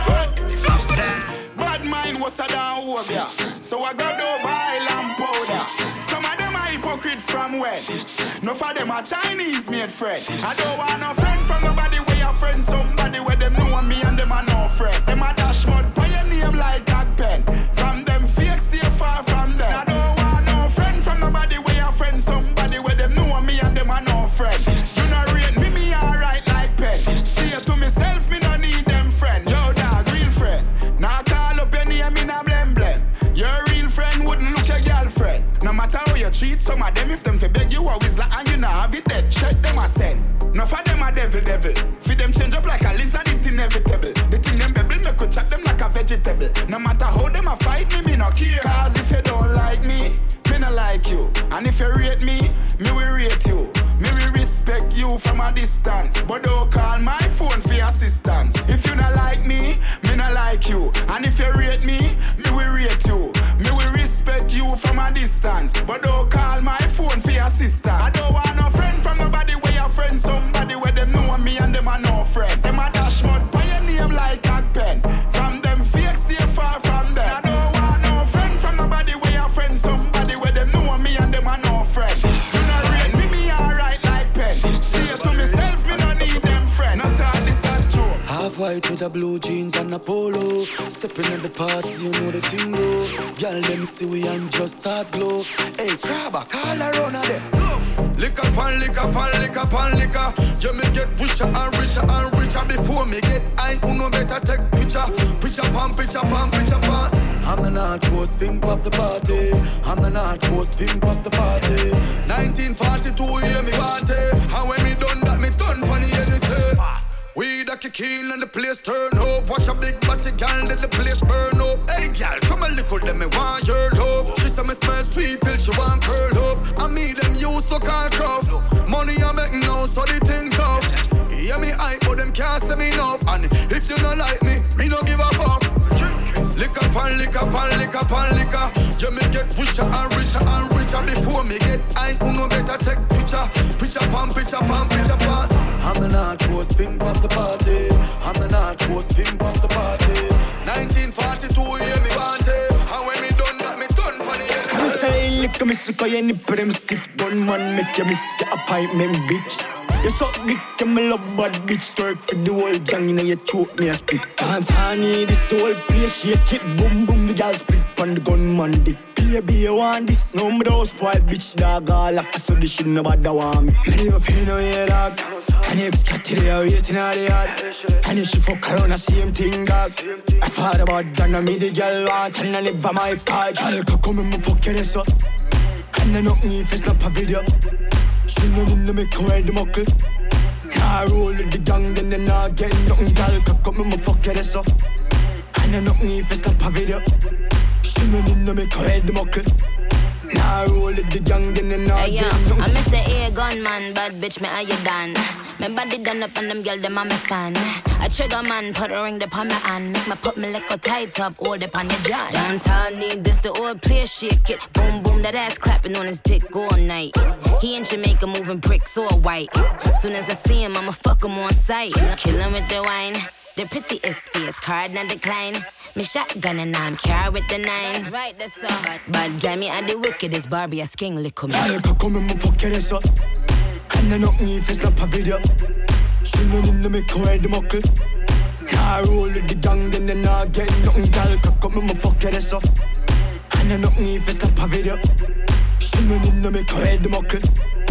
Bad mind was a down over here. So I got over island powder. Some of them are hypocrite from where? No for them are Chinese made friend. I don't want no friend from nobody where your friend. Somebody where them know me and them are no friend. Them a dash mud by your name like Agpen. From them fake stay far from them. I don't want no friend from nobody where your friend. Somebody where them know me and them are no friend. You not rate me, me alright like pen. Stay to myself, me don't need them friend. Yo dog, real friend. Now call up your name in a blem blem. Your real friend wouldn't look your girlfriend. No matter how you treat some of them, if them fi beg you always like and you not have it dead, check them a send. No for them a devil devil. Fi them change up like a lizard, it inevitable. The thing them bebble, me could chop them like a vegetable. No matter how them a fight me, me no care. Cause if you don't like me, me no like you. And if you rate me, me will rate you. Me will respect you from a distance. But don't call my phone for assistance. If you not like me, me not like you. And if you rate me, me will rate you. Me will respect you from a distance. But don't call my phone for assistance. I don't want no friend from nobody where your friend. Somebody where them know me and them are no friend. Them a dash mud by your name like Agpen. From them fake stay far from them. I don't want no friend from nobody where your friend. Somebody where them know me and them are no friend. You not rate me, me alright like pen. Stay to myself, me don't need them friend. Not all this as true. Half white with a blue jeans and a polo. Stepping at the party, you know the thing go. Y'all let me see we and just start blow. Hey, crabber, call around of them. Lick up and lick up and lick up and liquor. You me get richer and richer and richer. Before me get high, who no better take picture. Picture pan, picture pan, picture pan. I'm the North Coast pimp of the party. I'm the North Coast pimp of the party. nineteen forty-two, hear me party. And when me done that, me done funny anything. We da kick in and the place turn up. Watch a big body girl, let the place burn up. Hey girl, come a little, them me want your love. She say me smell sweet till she want curl up. And me them use so called cuff. Money I make now, so they think tough. Hear me hype, but them can't say me enough. And if you don't like me, me don't give a fuck. Lick up and lick up and lick up and liquor. You me get richer and richer and richer. Before me get high, who no better take picture. Picture pan, picture pan, picture pan. I'm the North Coast pimp of the party. I'm the North Coast pimp of the party. nineteen forty-two, hear me party. And when me done that, me done for the end. I say, lick me sick of your nipple, them stiff gun man. Make you miss your appointment, bitch. You suck dick, you me love bad bitch. Twerk for the whole gang, you know you choke me a spit. Dance honey, this the whole place, shake it, boom boom. The girl split on the gunman dick. Baby, you want this? No, me don't spoil bitch, dog. All after so this shit nobody want me. I never feel no way, dog. And if Scott today, I'm waiting on the yard. And if she fuck around, the same thing, dog. I thought about that, now me the girl want. And I never my fight. Girl, can come and me fuck your ass up. And I knock me if it's not a video. She no need to make her wear the muckle. Nah, roll with the gang, then they not get nothing. Girl, can come and me fuck your ass up. And I knock me if it's not a video. She no need to make her wear the muckle. Nah, roll with the gang, then they not hey, get yo, nothing. I'm Mister A gunman, bad bitch, me how you done? My body done up and them girl, them a me fan. A trigger man, put a ring upon my hand. Make me put me like a tight up, hold up on your jaw. Dance all need this, the old place, shake it. Boom, boom. boom, that ass clapping on his dick all night. He in Jamaica moving bricks all white. Soon as I see him, I'ma fuck him on sight. Kill him with the wine. The pretty is fierce, card not decline. Me shotgun and I'm carry with the nine. Right, that's all. But, but damn me, I the wickedest Barbie, a sking lick me. Jag kan komma med fucker det så. Han är nog ny för snabba video. Känner in med kvar det mockel. Jag roller the gang, den är nagen. Någon gal kan komma med fucker det så. Han är nog ny för snabba video. Känner in med kvar det mockel.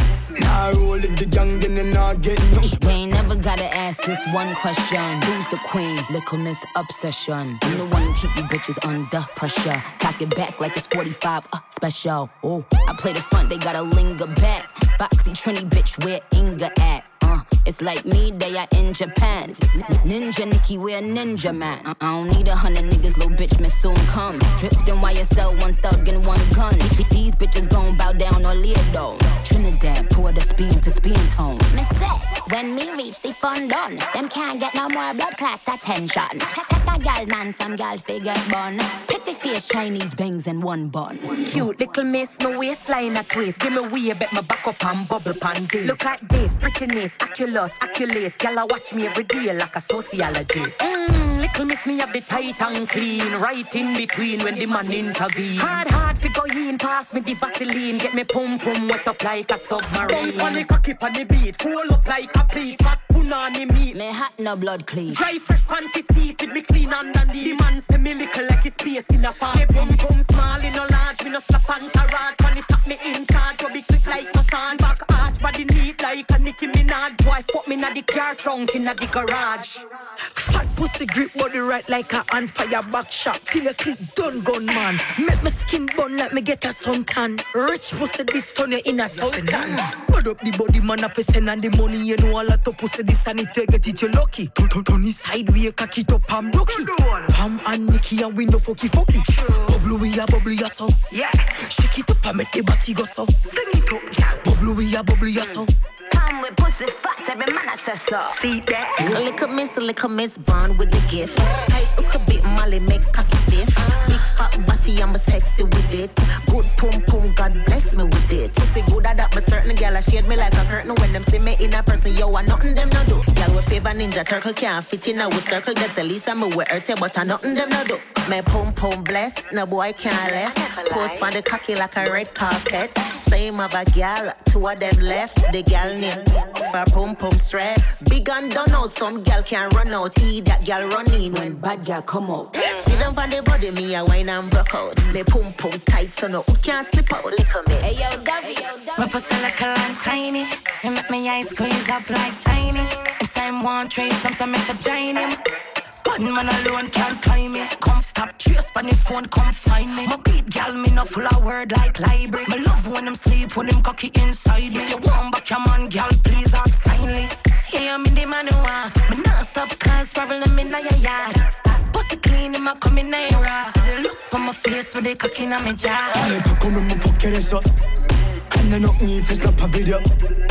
Now rolling the gang in the nugget. They ain't never gotta ask this one question. Who's the queen? Little Miss Obsession. I'm the one who keep you bitches under pressure. Cock it back like it's forty-five, uh, special. Oh, I play the front, they gotta linger back. Boxy Trini bitch, where Inga at? Uh, it's like me, they are in Japan. Ninja Nikki, we're ninja man. I don't need a hundred niggas, little bitch, may soon come. Dripped in Y S L, one thug and one gun. These bitches gon' bow down or Leodo. Trinidad, pour the speed to speed tone. Me say, when me reach the fun done, them can't get no more blood clot attention. Take a gal man, some gal figure bun. Pretty face, Chinese bangs and one bun. Cute little miss, my waistline a twist. Give me way, bet my back up and bubble pan this. Look at this, prettiness, Aculus, Aculus. Y'all watch me every day like a sociologist. Mmm, little miss me have the tight and clean. Right in between when the man intervene. Hard, hard figure in, pass me the Vaseline. Get me pum pum wet up like a submarine. Bounce on the cocky on the beat. Full up like a plate. Fat punani meat. Me hot no blood clean. Dry fresh panty seat with me clean underneath. The man say me little like his space in a farm. Me pum pum small in no large. Me no slap and carrot. When it tap me in charge. You be quick like no sand. Back arch body neat like a Nicki Minaj. Boy fuck me na the car trunk in a the garage. Fat pussy grip body right like a on fire back shot. Till you click done gun man. Make me skin bun like me get a suntan. Rich pussy this turn you in a sultan. Put up the body man a send and the money you know a lot of pussy this and if you get it you lucky. Turn turn turn side we cock it up and blocky. Pam and Nicky and we no fucky fucky. Bubble we a bubble ya so. Yeah. Shake it up and make the body go so. Bring it up, yeah. Bubble we a bubble ya so. Come with pussy fat, every man has to suck. See that? A little miss, a little miss, born with the gift. Tight hook a bit, Molly make cocky stiff. Big fat body, I'm a sexy with it. Good pum pum, God bless me with it. Pussy good at that, but certain gal I shade me like a curtain. When them see me in a person, yo, I nothing them no do. Gal with favor ninja turtle can't fit in a with circle. Them say Lisa me with earthy, but I nothing them no do. My pum pum blessed, no boy can't left. Post on the cocky like a red carpet. Same of a gal, two of them left. The gal name for pum pum stress. Big and done out, some gal can run out. E that gal run in when bad gal come out. Sit down on the body, me a wine and broke out. Me pum pum tight, so no one can't slip out. Little miss. Hey yo, Davy, yo, Davy. My pussy like a long tiny. You make me eyes squeeze up like tiny. If I'm one trace, I'm some for join him. Gunman alone can't tie me. Come stop, trace on the phone, come find me. My beat gal, me no full of word like library. Me love when them sleep, when them cocky inside me. If you want back your man, gal, please ask kindly. Yeah, I'm in the man who want. Me not stop cause problem in your yard. Pussy clean, him a come in your ass. See the look on my face with the cocky in my jaw. Jag kan komma med fucker det så. Han är nog ny för snabba video.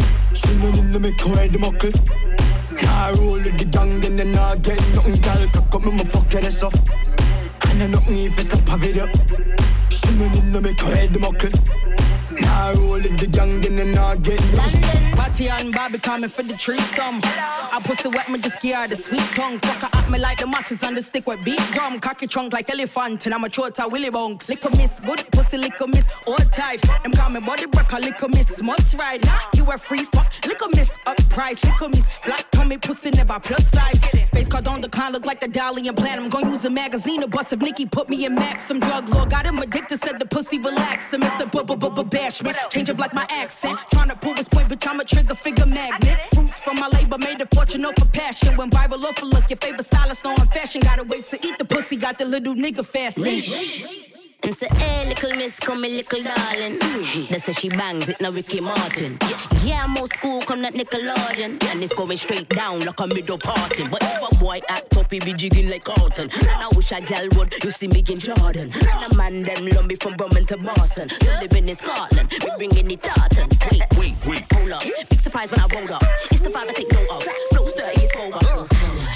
Känner in med kvar det mockel. Jag roller the gang, den är nagen. Någon gal kan komma med fucker det så. Han är nog ny för snabba video. Känner in med kvar det mockel. Now rolling the gang in the nugget. Batty and Bobby coming for the threesome. I pussy wet me just scared the sweet tongue. Fuck her at me like the matches on the stick with beat drum. Cocky trunk like elephant and I'm a throat a willy bunks. Lick a miss, good pussy lick a miss, all tight. Them call me body breaker, lick a miss, must ride. Nah, you a free fuck, lick a miss, up price, lick a miss. Black tummy pussy never plus size. Face card on the con look like the Dalian plan. I'm gonna use a magazine to bust if Nikki put me in max. Some drug lord got him addicted, said the pussy relax. And miss a bu bu bu bu bad. Change up like my accent. Tryna prove his point, bitch, I'm a trigger figure magnet. Fruits from my labor made a fortune off of passion. When viral off a look, your favorite stylist on fashion. Gotta wait to eat the pussy, got the little nigga fast leash. And say, hey, little miss, come me, little darling. Mm-hmm. They say she bangs it, now Ricky Martin. Yeah, yeah, I'm old school, come that Nickelodeon. And it's going straight down like a middle party. But if a boy act up, he be jigging like Carlton. And I wish a gal would, you see me in Jordan. And a man them love me from Brooklyn to Boston. Still living in Scotland, we bringing it tartan. Wait, wait, wait, hold up. Big surprise when I rolled up. It's the vibe I take note of. Flows dirty, it's over. She in the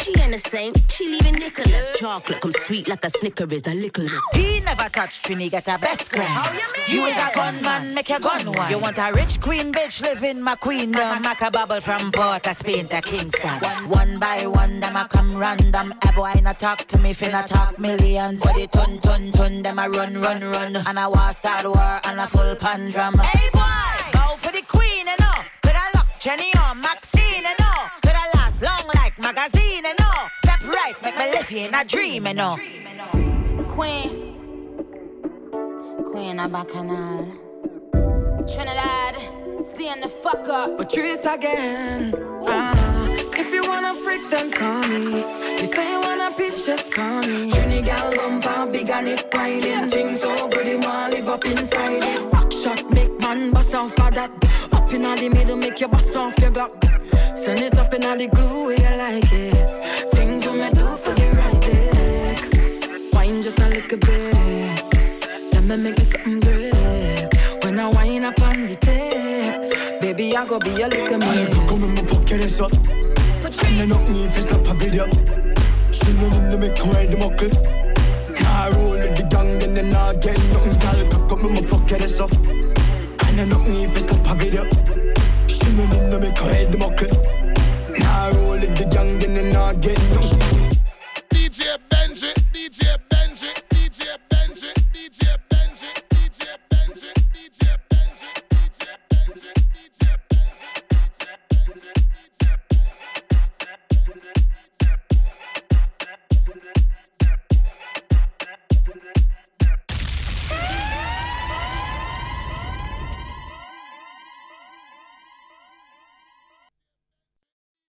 Saint, she leaving Nicholas. Chocolate come sweet like a Snickers, a lickleness. He never touched Trini, get a best friend. How you mean? You is a gunman, make your gun one. You want a rich queen bitch, live in my queendom. Make a bubble from Port of Spain to Kingston. One, one by one, them a come random. A boy not talk to me, finna talk millions. But the ton, ton, ton, them a run, run, run. And I war start war and a full pan drum. Hey boy, go for the queen, you know. Could I lock Jenny or Maxine, you know. Could I last long like magazine, you know. Step right, make me live in a dream, you know. Queen, Queen of Bacchanal, Trinidad, stand the fuck up. Patrice again. Ah, if you wanna freak, then call me. You say you wanna pitch, just call me. Trini gal bumper, big and it riding. Things so good, you wanna live up inside it. Back shot, make man bust off for that. Up in the middle, make you bust off your Glock. Send it up in the glue where you like it. Things we may do for the right dick. Wine just a little bit. Let me make it something great. When I wine up on the tape, baby, I go be a little miss. Come in my pocket, it's up. And I don't need to stop a video. Swinging in the make away the muckle. Car roll the gang, then I get nothing. Girl, come in my pocket, it's up. And I don't need to stop a